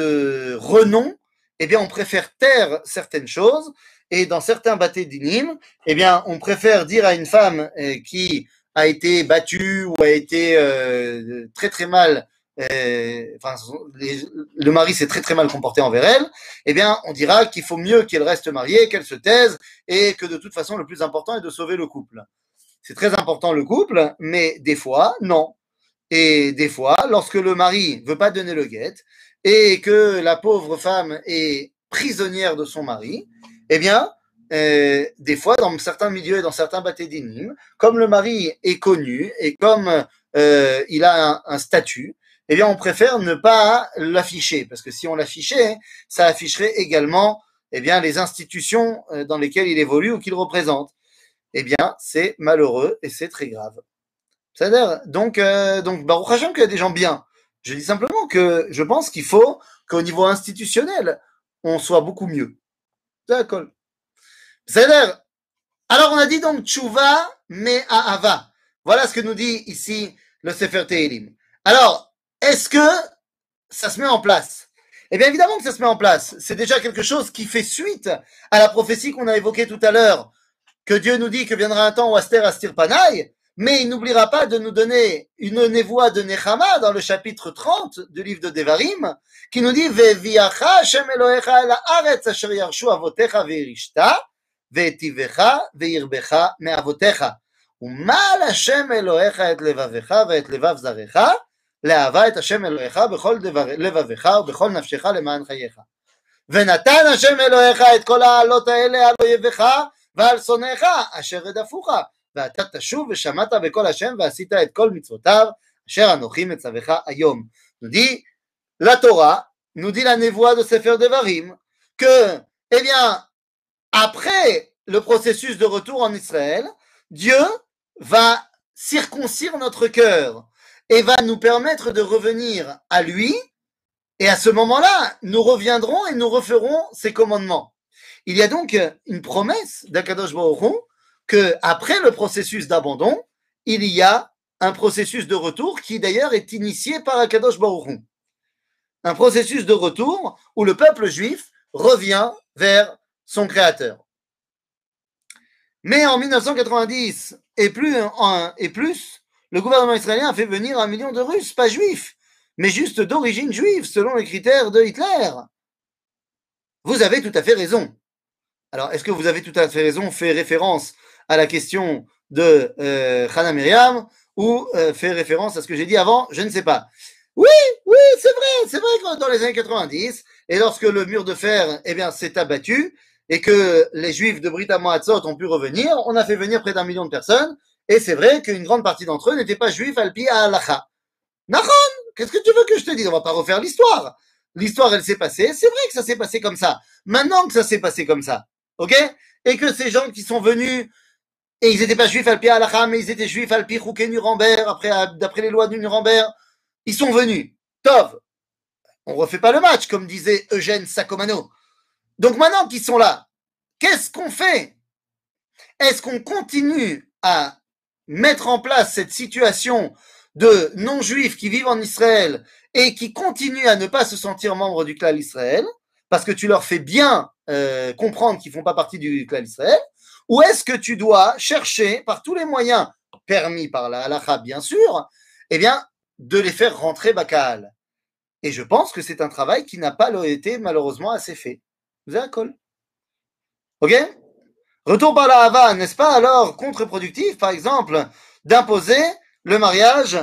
de renom, eh bien, on préfère taire certaines choses. Et dans certains bâtés d'inim, eh bien, on préfère dire à une femme euh, qui a été battue ou a été euh, très très mal, euh, enfin, les, le mari s'est très très mal comporté envers elle, eh bien, on dira qu'il faut mieux qu'elle reste mariée, qu'elle se taise, et que de toute façon, le plus important est de sauver le couple. C'est très important le couple, mais des fois, non. Et des fois, lorsque le mari veut pas donner le guet et que la pauvre femme est prisonnière de son mari, eh bien, euh, des fois, dans certains milieux et dans certains bâtés d'inim, comme le mari est connu et comme euh, il a un, un statut, eh bien, on préfère ne pas l'afficher, parce que si on l'affichait, ça afficherait également, eh bien, les institutions dans lesquelles il évolue ou qu'il représente. Eh bien, c'est malheureux et c'est très grave. C'est-à-dire, donc, euh, donc, Baruch Hashem qu'il y a des gens bien. Je dis simplement que je pense qu'il faut qu'au niveau institutionnel, on soit beaucoup mieux. D'accord. C'est-à-dire, alors on a dit donc Tchouva Me'ahava. Voilà ce que nous dit ici le Sefer Tehilim. Alors, est-ce que ça se met en place? Eh bien, évidemment que ça se met en place. C'est déjà quelque chose qui fait suite à la prophétie qu'on a évoquée tout à l'heure, que Dieu nous dit que viendra un temps où Aster Astir Panaï, mais il n'oubliera pas de nous donner une névoie de Nechama dans le chapitre trente du livre de Devarim, qui nous dit Ve'viacha Hashem Elohecha el haaretz asher yarshu avotecha ve'irishta ve'etivecha ve'irbecha me'avotecha umal Hashem Elohecha et levavecha ve'et levav zarecha le'ava et Hashem Elohecha bechol levavecha ובכל נפשך למען חייך ונתן השם אלוהיך את כל העלות האלה על אויביך ועל שונאיך אשר רדפוך ואתה תשוב ושמעת בקול השם ועשית את כל מצוותיו אשר אנוכי מצווך היום. Nous dit la Torah, nous dit la névoie de Sefer Devarim, que, eh bien, après le processus de retour en Israël, Dieu va circoncire notre cœur et va nous permettre de revenir à lui, et à ce moment-là, nous reviendrons et nous referons ses commandements. Il y a donc une promesse d'Akadosh Baruch Hu que après le processus d'abandon, il y a un processus de retour qui d'ailleurs est initié par Akadosh Baruch Hu. Un processus de retour où le peuple juif revient vers son créateur. Mais en mille neuf cent quatre-vingt-dix et plus, et plus, le gouvernement israélien a fait venir un million de Russes, pas juifs, mais juste d'origine juive, selon les critères de Hitler. Vous avez tout à fait raison. Alors, est-ce que vous avez tout à fait raison fait référence à la question de euh, Hannah Myriam ou euh, fait référence à ce que j'ai dit avant? Je ne sais pas. Oui, oui, c'est vrai, c'est vrai que dans les années quatre-vingt-dix, et lorsque le mur de fer, eh bien, s'est abattu, et que les Juifs de Brit Hamoatzot ont pu revenir, on a fait venir près d'un million de personnes, et c'est vrai qu'une grande partie d'entre eux n'étaient pas Juifs al-pi à halacha. Nahon, qu'est-ce que tu veux que je te dise? On va pas refaire l'histoire. L'histoire, elle s'est passée, c'est vrai que ça s'est passé comme ça. Maintenant que ça s'est passé comme ça, ok? Et que ces gens qui sont venus, et ils n'étaient pas Juifs al-pi à halacha, mais ils étaient Juifs al-pi Chouké Nuremberg, après, d'après les lois de Nuremberg, ils sont venus. Tov, on refait pas le match, comme disait Eugène Sacomano. Donc maintenant qu'ils sont là, qu'est-ce qu'on fait? Est-ce qu'on continue à mettre en place cette situation de non-juifs qui vivent en Israël et qui continuent à ne pas se sentir membres du clan Israël, parce que tu leur fais bien euh, comprendre qu'ils ne font pas partie du clan Israël, ou est-ce que tu dois chercher, par tous les moyens permis par la halakha, bien sûr, eh bien, de les faire rentrer Bakal? Et je pense que c'est un travail qui n'a pas été malheureusement assez fait. Vous avez un call. Ok? Retour par la Hava, n'est-ce pas alors contre-productif, par exemple, d'imposer le mariage,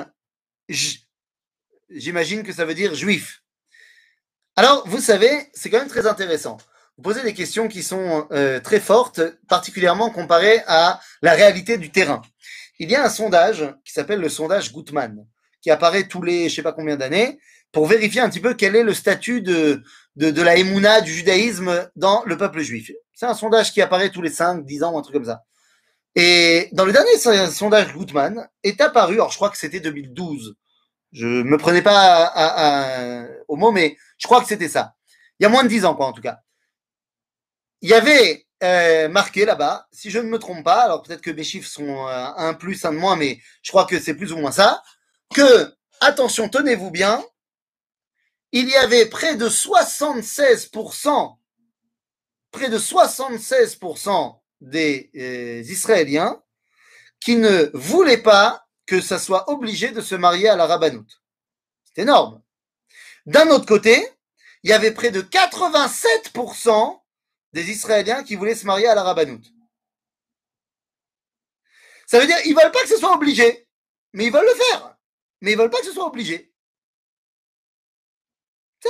j'imagine que ça veut dire juif. Alors, vous savez, c'est quand même très intéressant. Vous posez des questions qui sont euh, très fortes, particulièrement comparées à la réalité du terrain. Il y a un sondage qui s'appelle le sondage Gutmann, qui apparaît tous les je sais pas combien d'années, pour vérifier un petit peu quel est le statut de, de, de la Emouna, du judaïsme dans le peuple juif. C'est un sondage qui apparaît tous les cinq, dix ans, un truc comme ça. Et dans le dernier sondage Gutmann est apparu, alors je crois que c'était deux mille douze, je me prenais pas à, à, à, au mot, mais je crois que c'était ça. Il y a moins de dix ans, quoi, en tout cas. Il y avait euh, marqué là-bas, si je ne me trompe pas, alors peut-être que mes chiffres sont euh, un plus, un de moins, mais je crois que c'est plus ou moins ça, que, attention, tenez-vous bien, il y avait près de soixante-seize pour cent, près de soixante-seize pour cent des euh, Israéliens qui ne voulaient pas que ça soit obligé de se marier à la rabbanoute. C'est énorme. D'un autre côté, il y avait près de quatre-vingt-sept pour cent des Israéliens qui voulaient se marier à la rabbanoute. Ça veut dire qu'ils ne veulent pas que ce soit obligé, mais ils veulent le faire. Mais ils ne veulent pas que ce soit obligé. Ça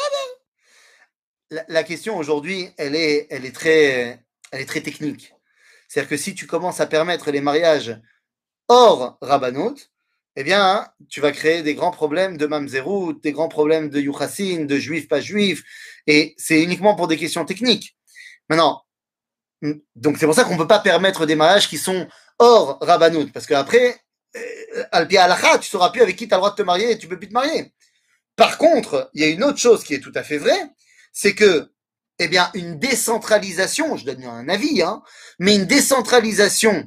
va. La, la question aujourd'hui, elle est, elle, est très, elle est très technique. C'est-à-dire que si tu commences à permettre les mariages hors rabbanoute, eh bien, tu vas créer des grands problèmes de mamzerout, des grands problèmes de yuchassin, de juifs pas juifs, et c'est uniquement pour des questions techniques. Maintenant, donc c'est pour ça qu'on ne peut pas permettre des mariages qui sont hors rabbanout, parce qu'après, euh, al-pi halacha, tu ne sauras plus avec qui tu as le droit de te marier et tu ne peux plus te marier. Par contre, il y a une autre chose qui est tout à fait vraie, c'est que, eh bien, une décentralisation, je donne un avis, hein, mais une décentralisation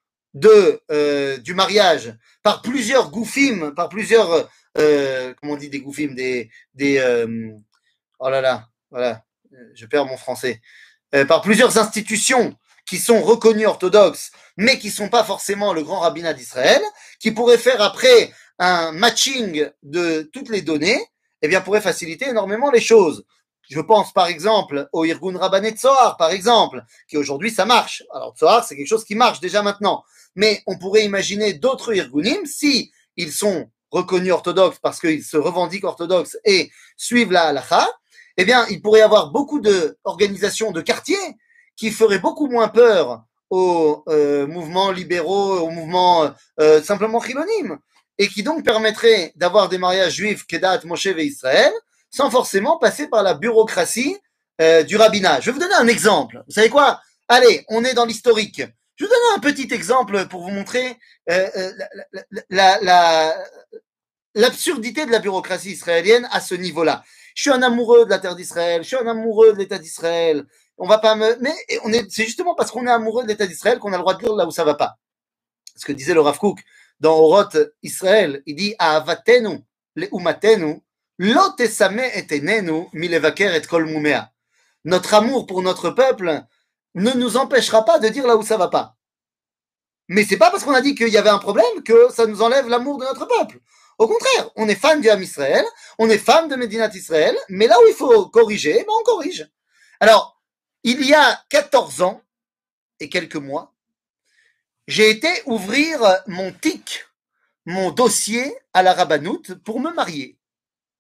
de euh, du mariage par plusieurs goufim, par plusieurs euh, comment on dit des goufim, des des euh, oh là là, voilà, je perds mon français, euh, par plusieurs institutions qui sont reconnues orthodoxes, mais qui sont pas forcément le grand rabbinat d'Israël, qui pourraient faire après un matching de toutes les données, eh bien pourrait faciliter énormément les choses. Je pense par exemple au Irgun Rabbané Tzohar, par exemple, qui aujourd'hui ça marche. Alors Tzohar, c'est quelque chose qui marche déjà maintenant. Mais on pourrait imaginer d'autres Irgunim, si ils sont reconnus orthodoxes parce qu'ils se revendiquent orthodoxes et suivent la halakha, eh bien, il pourrait y avoir beaucoup d'organisations de quartiers qui feraient beaucoup moins peur aux euh, mouvements libéraux, aux mouvements euh, simplement chilonim, et qui donc permettraient d'avoir des mariages juifs, Kedat, Moshe et Israël, sans forcément passer par la bureaucratie euh, du rabbinat. Je vais vous donner un exemple. Vous savez quoi? Allez, on est dans l'historique. Je vais vous donner un petit exemple pour vous montrer euh, la, la, la, l'absurdité de la bureaucratie israélienne à ce niveau-là. Je suis un amoureux de la terre d'Israël, je suis un amoureux de l'État d'Israël. On va pas me, mais on est, c'est justement parce qu'on est amoureux de l'État d'Israël qu'on a le droit de dire là où ça va pas. Ce que disait le Rav Kook dans Oroth Israël, il dit Ahavatenu leumatenu lo tesame et enenu milevaker et kol mumea. Notre amour pour notre peuple ne nous empêchera pas de dire là où ça va pas. Mais c'est pas parce qu'on a dit qu'il y avait un problème que ça nous enlève l'amour de notre peuple. Au contraire, on est fan du Ham Israël, on est fan de Médinat Israël, mais là où il faut corriger, ben on corrige. Alors, il y a quatorze ans et quelques mois, j'ai été ouvrir mon tic, mon dossier à la rabbanoute pour me marier.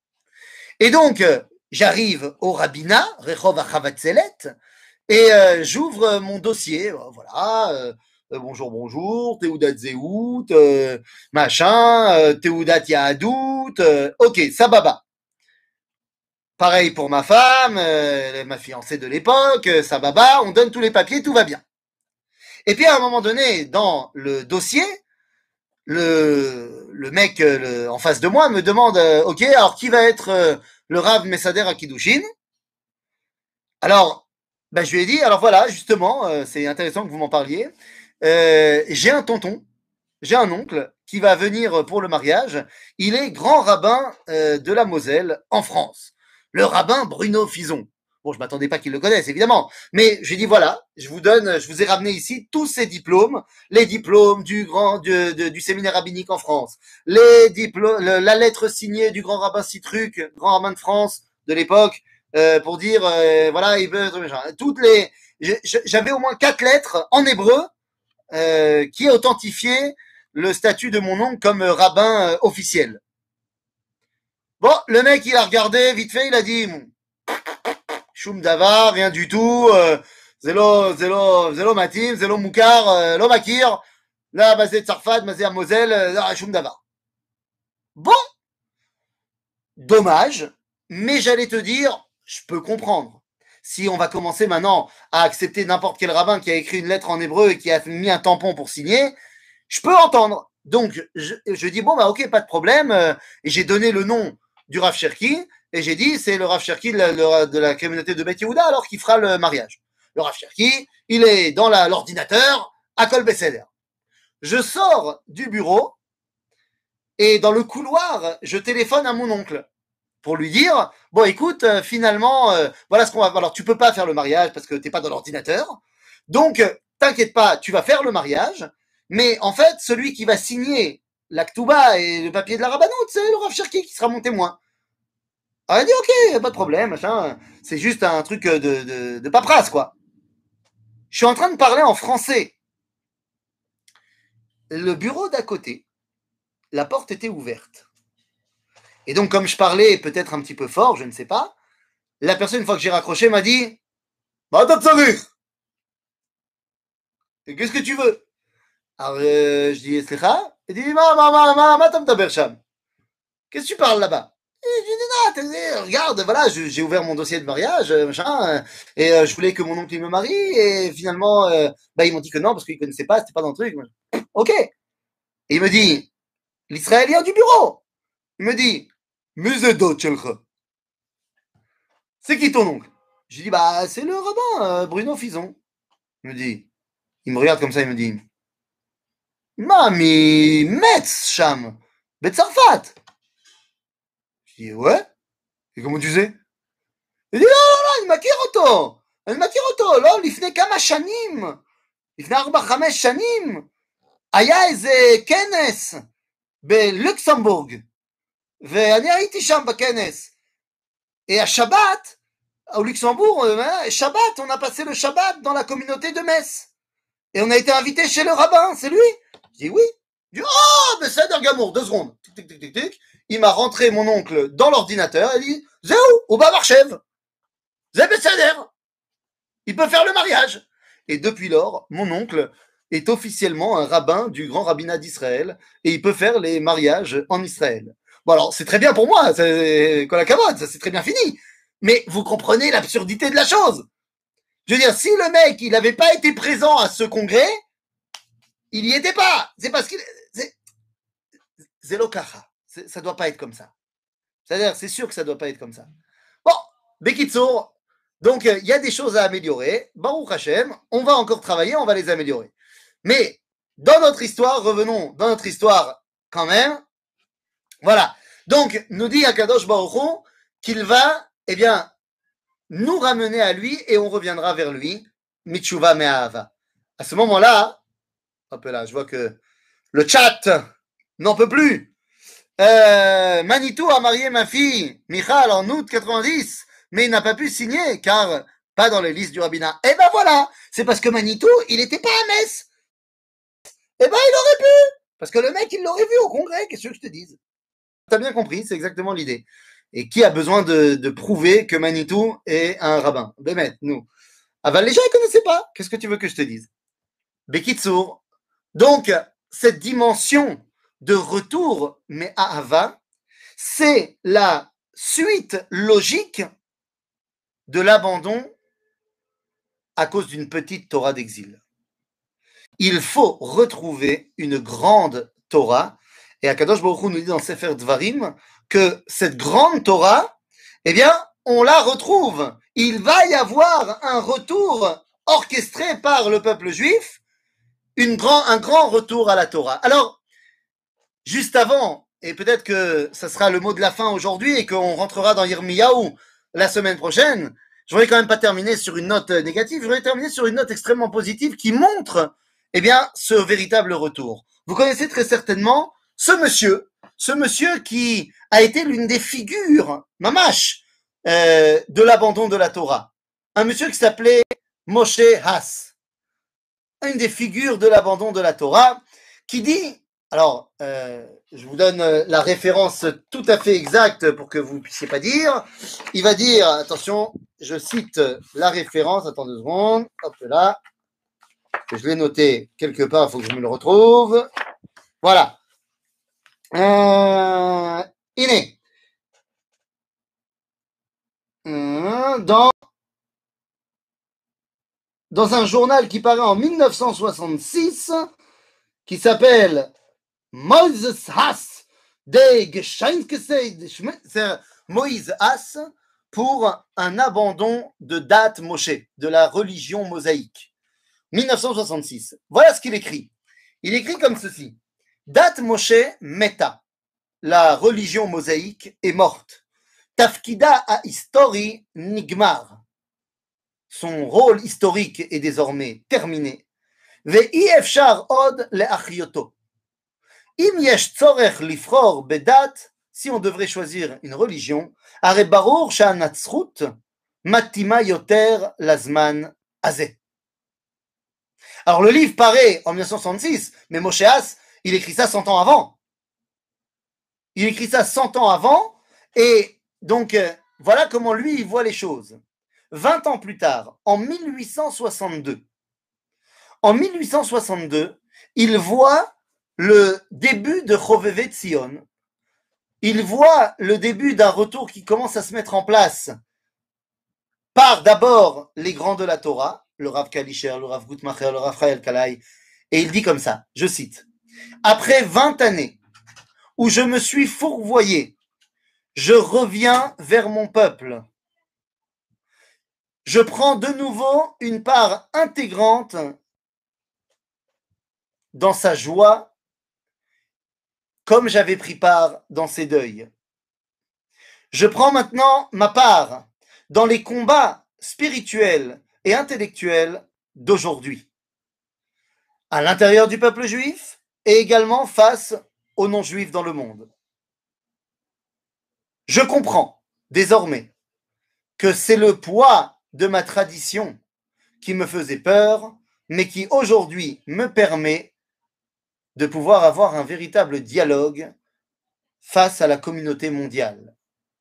Et donc, euh, j'arrive au rabbinat, Rehov Achavatzelet, et euh, j'ouvre mon dossier, euh, voilà, euh, euh, bonjour, bonjour, Teudat Zehout, euh, machin, euh, Teudat Yahadout, euh, ok, Sababa. Pareil pour ma femme, euh, ma fiancée de l'époque, euh, Sababa, on donne tous les papiers, tout va bien. Et puis à un moment donné, dans le dossier, le, le mec le, en face de moi me demande, euh, ok, alors qui va être euh, le Rav Messader à Kiddushin? Alors, bah, je lui ai dit, alors voilà, justement, euh, c'est intéressant que vous m'en parliez. Euh, j'ai un tonton, j'ai un oncle qui va venir pour le mariage. Il est grand rabbin euh, de la Moselle en France. Le rabbin Bruno Fison. Bon, je m'attendais pas qu'il le connaisse, évidemment. Mais j'ai dit, voilà, je vous donne, je vous ai ramené ici tous ces diplômes, les diplômes du grand, du, du, du séminaire rabbinique en France, les diplômes, le, la lettre signée du grand rabbin Citruc, grand rabbin de France de l'époque, euh, pour dire, euh, voilà, il veut, toutes les, j'avais au moins quatre lettres en hébreu, euh, qui authentifiaient le statut de mon oncle comme rabbin euh, officiel. Bon, le mec, il a regardé, vite fait, il a dit, Choum Davar, rien du tout, euh, Zélo, Zélo, Zélo Matim, Zélo Moukar, euh, Lo Makir, là, Mazé Tsarfat, Mazé Moselle, euh, Choum Davar. Bon, dommage, mais j'allais te dire, je peux comprendre. Si on va commencer maintenant à accepter n'importe quel rabbin qui a écrit une lettre en hébreu et qui a mis un tampon pour signer, je peux entendre. Donc, je, je dis, bon, bah, ok, pas de problème. Euh, et j'ai donné le nom du Rav Cherki, et j'ai dit, c'est le Rav Cherki de la, de la communauté de Beth Yehuda, alors qu'il fera le mariage. Le Rav Cherki, il est dans la, l'ordinateur, à Kol Besséder. Je sors du bureau, et dans le couloir, je téléphone à mon oncle pour lui dire, bon, écoute, euh, finalement, euh, voilà ce qu'on va... Alors, tu peux pas faire le mariage parce que t'es pas dans l'ordinateur. Donc, euh, t'inquiète pas, tu vas faire le mariage. Mais en fait, celui qui va signer l'actuba et le papier de la rabbanoute, c'est le Rav Cherki qui sera mon témoin. Alors, il a dit, ok, pas de problème, machin. C'est juste un truc de, de, de paperasse, quoi. Je suis en train de parler en français. Le bureau d'à côté, la porte était ouverte. Et donc, comme je parlais peut-être un petit peu fort, je ne sais pas, la personne, une fois que j'ai raccroché, m'a dit, bah, t'as de qu'est-ce que tu veux? Alors, euh, je dis, Slicha? Il dit, ma, ma, ma, ma, ma, tam tabersham. Qu'est-ce que tu parles là-bas? Et je dis, non, regarde, voilà, j'ai ouvert mon dossier de mariage, machin, et euh, je voulais que mon oncle il me marie, et finalement, euh, bah, ils m'ont dit que non, parce qu'ils connaissaient pas, c'était pas dans le truc. Ok. Et il me dit, l'Israélien du bureau, il me dit, Muzedo Tchelcha. C'est qui ton oncle? Je lui dis, bah, c'est le rabbin, euh, Bruno Fison. Il me dit, il me regarde comme ça, il me dit, Mami, Metz, Cham, Betsarfat. Je dis, ouais. Et comment tu sais? Il dit, לא, לא, לא, אני מכיר אותו. אני מכיר אותו. לא, לפני כמה שנים, לפני ארבע, חמש שנים, היה איזה כנס בלוקסמבורג, ואני הייתי שם בכנס. Et à Shabbat, au Luxembourg, hein, Shabbat, on a passé le Shabbat dans la communauté de Metz. Et on a été invité chez le rabbin, c'est lui? Je dis oui. Je dis, oh, mais c'est d'un gamour, deux secondes. Tic, tic, tic, tic, tic. Il m'a rentré mon oncle dans l'ordinateur et dit, Zéou, au Bavarchev. Zé Besséder. Il peut faire le mariage. Et depuis lors, mon oncle est officiellement un rabbin du grand rabbinat d'Israël et il peut faire les mariages en Israël. Bon, alors, c'est très bien pour moi, c'est la cavote, ça c'est très bien fini. Mais vous comprenez l'absurdité de la chose. Je veux dire, si le mec, il n'avait pas été présent à ce congrès, il n'y était pas. C'est parce qu'il... C'est l'okacha. Ça doit pas être comme ça. C'est-à-dire, c'est sûr que ça doit pas être comme ça. Bon, Bekitsour, donc il y a des choses à améliorer. Baruch Hashem, on va encore travailler, on va les améliorer. Mais dans notre histoire, revenons dans notre histoire quand même. Voilà. Donc, nous dit Akadosh Baruch Hu qu'il va, eh bien, nous ramener à lui et on reviendra vers lui. Mitzhuva me'ahava. À ce moment-là, hop là, je vois que le chat n'en peut plus. Euh, Manitou a marié ma fille, Michal, en août quatre-vingt-dix, mais il n'a pas pu signer car pas dans les listes du rabbinat. Et ben voilà, c'est parce que Manitou, il n'était pas à Metz. Et ben il aurait pu, parce que le mec, il l'aurait vu au congrès, qu'est-ce que je te dise? T'as bien compris, c'est exactement l'idée. Et qui a besoin de, de prouver que Manitou est un rabbin? Bémet, nous. Ah ben, les gens ne connaissaient pas. Qu'est-ce que tu veux que je te dise? Bekitsour. Donc, cette dimension de retour, mais à Ava, c'est la suite logique de l'abandon à cause d'une petite Torah d'exil. Il faut retrouver une grande Torah. Et Akadosh Baruch Hu nous dit dans Sefer Dvarim que cette grande Torah, eh bien, on la retrouve. Il va y avoir un retour orchestré par le peuple juif, une grand, un grand retour à la Torah. Alors, juste avant, et peut-être que ça sera le mot de la fin aujourd'hui et qu'on rentrera dans Yirmiyahu la semaine prochaine, je voudrais quand même pas terminer sur une note négative, je voudrais terminer sur une note extrêmement positive qui montre, eh bien, ce véritable retour. Vous connaissez très certainement ce monsieur, ce monsieur qui a été l'une des figures, mamash, euh, de l'abandon de la Torah. Un monsieur qui s'appelait Moshe Haas. Une des figures de l'abandon de la Torah, qui dit, alors, euh, je vous donne la référence tout à fait exacte pour que vous ne puissiez pas dire. Il va dire, attention, je cite la référence, attends deux secondes, hop là, je l'ai noté quelque part, il faut que je me le retrouve. Voilà. Euh, il est dans, dans un journal qui paraît en mille neuf cent soixante-six, qui s'appelle Moses Haas, des c'est Moïse Haas, pour un abandon de date Moshe, de la religion mosaïque. mille neuf cent soixante-six. Voilà ce qu'il écrit. Il écrit comme ceci. Date Moshe meta. La religion mosaïque est morte. Tafkida a histori nigmar. Son rôle historique est désormais terminé. Ve'i efshar od le'achyoto. Im yesh tzorech lifror bedat, si on devrait choisir une religion, are barur sha'anatzrut matima yoter lazman azeh. Alors le livre paraît en mille neuf cent soixante-six, mais Moshe Haas, il écrit ça cent ans avant. Il écrit ça cent ans avant, et donc euh, voilà comment lui il voit les choses. vingt ans plus tard, en mille huit cent soixante-deux, en mille huit cent soixante-deux, il voit le début de Chovevei Tzion. Il voit le début d'un retour qui commence à se mettre en place par d'abord les grands de la Torah, le Rav Kalischer, le Rav Gutmacher, le Rav Chayel Kalai, et il dit comme ça, je cite, « Après vingt années où je me suis fourvoyé, je reviens vers mon peuple. Je prends de nouveau une part intégrante dans sa joie, comme j'avais pris part dans ses deuils. Je prends maintenant ma part dans les combats spirituels et intellectuels d'aujourd'hui, à l'intérieur du peuple juif et également face aux non-juifs dans le monde. Je comprends désormais que c'est le poids de ma tradition qui me faisait peur, mais qui aujourd'hui me permet de pouvoir avoir un véritable dialogue face à la communauté mondiale.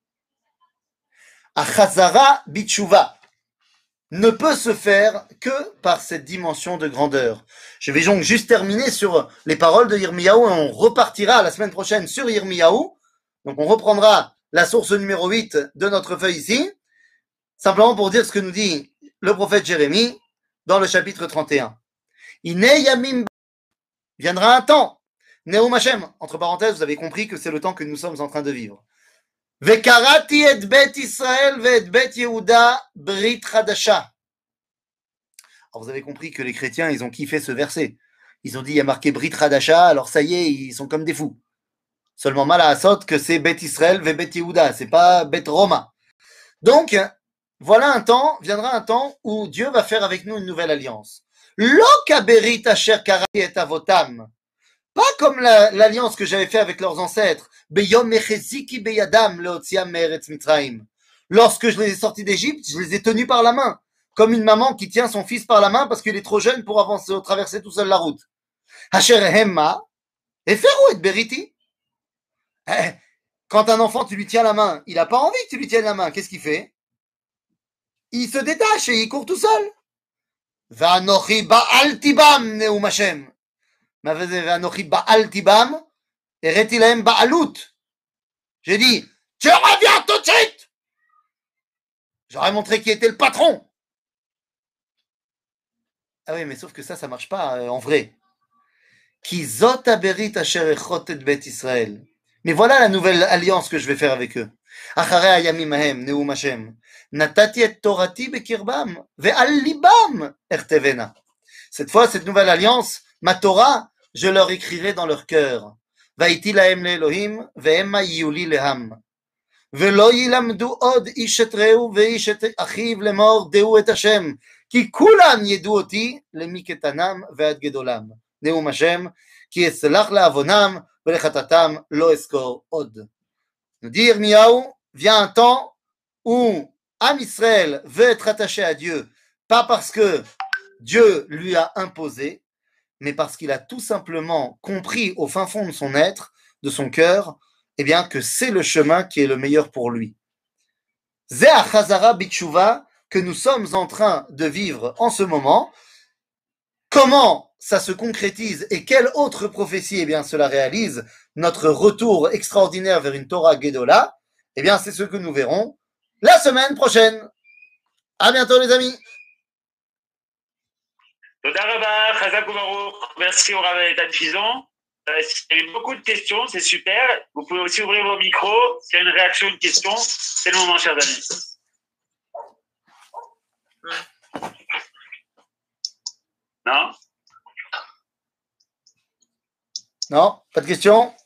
Achazara Bitshuva ne peut se faire que par cette dimension de grandeur. Je vais donc juste terminer sur les paroles de Yirmiyahu et on repartira la semaine prochaine sur Yirmiyahu. Donc on reprendra la source numéro huit de notre feuille ici, simplement pour dire ce que nous dit le prophète Jérémie dans le chapitre trente et un. Ine Yamim, viendra un temps, Neum Hashem, entre parenthèses, vous avez compris que c'est le temps que nous sommes en train de vivre. Vekarati et bet Israël ve et bet Yehuda brit chadasha. Alors vous avez compris que les chrétiens, ils ont kiffé ce verset. Ils ont dit, il y a marqué brit chadasha, alors ça y est, ils sont comme des fous. Seulement mal à Asot que c'est bet Israël ve bet Yehuda, c'est pas bet Roma. Donc, voilà un temps, viendra un temps où Dieu va faire avec nous une nouvelle alliance. Lo kaberit asher karati et avotam. Pas comme la, l'alliance que j'avais fait avec leurs ancêtres. Beyom mecheziki beyadam leotziam me'eretz Mitzrayim. Lorsque je les ai sortis d'Égypte, je les ai tenus par la main. Comme une maman qui tient son fils par la main parce qu'il est trop jeune pour avancer, traverser tout seul la route. Asher hemma, eferu et beriti. Quand un enfant, tu lui tiens la main, il n'a pas envie que tu lui tiennes la main. Qu'est-ce qu'il fait? Il se détache et il court tout seul. Va'anochi ba'al tibam neum Hashem. Va'anochi ba'al tibam ereti lahem ba'alut. J'ai dit, tu reviens tout de suite. J'aurais montré qui était le patron. Ah oui, mais sauf que ça, ça marche pas euh, en vrai. Ki zot haberit asher echot et bet Israël. Mais voilà la nouvelle alliance que je vais faire avec eux. Acharei hayamim hahem neum Hashem. Natati et torati bekirbam ve'al libam ertevena. Cette fois, cette nouvelle alliance, ma Torah, je leur écrirai dans leur cœur. Vaïti lahem le'Elohim ve'emma yuli leham. ולא ילמדו עוד איש את רעהו ואיש את אחיו לאמור דעו את השם כי כולם ידעו אותי למקטנם ועד גדולם נאום השם כי אסלח לעוונם ולחטאתם לא אזכור עוד. Nous dit Yirmiyahu, vient un temps où Am Israël veut être attaché à Dieu, pas parce que Dieu lui a imposé, mais parce qu'il a tout simplement compris au fin fond de son être, de son cœur, eh bien que c'est le chemin qui est le meilleur pour lui. Zeh Chazara Bitshuva que nous sommes en train de vivre en ce moment. Comment ça se concrétise et quelle autre prophétie eh bien cela réalise notre retour extraordinaire vers une Torah Gedola? Eh bien c'est ce que nous verrons la semaine prochaine. À bientôt les amis. Toda Rabba, Chazak Ubaruch. Merci au Rav Etan Fison. Euh, il y a eu beaucoup de questions, c'est super. Vous pouvez aussi ouvrir vos micros. S'il y a une réaction, une question, c'est le moment, chers amis. Non? Non, pas de questions?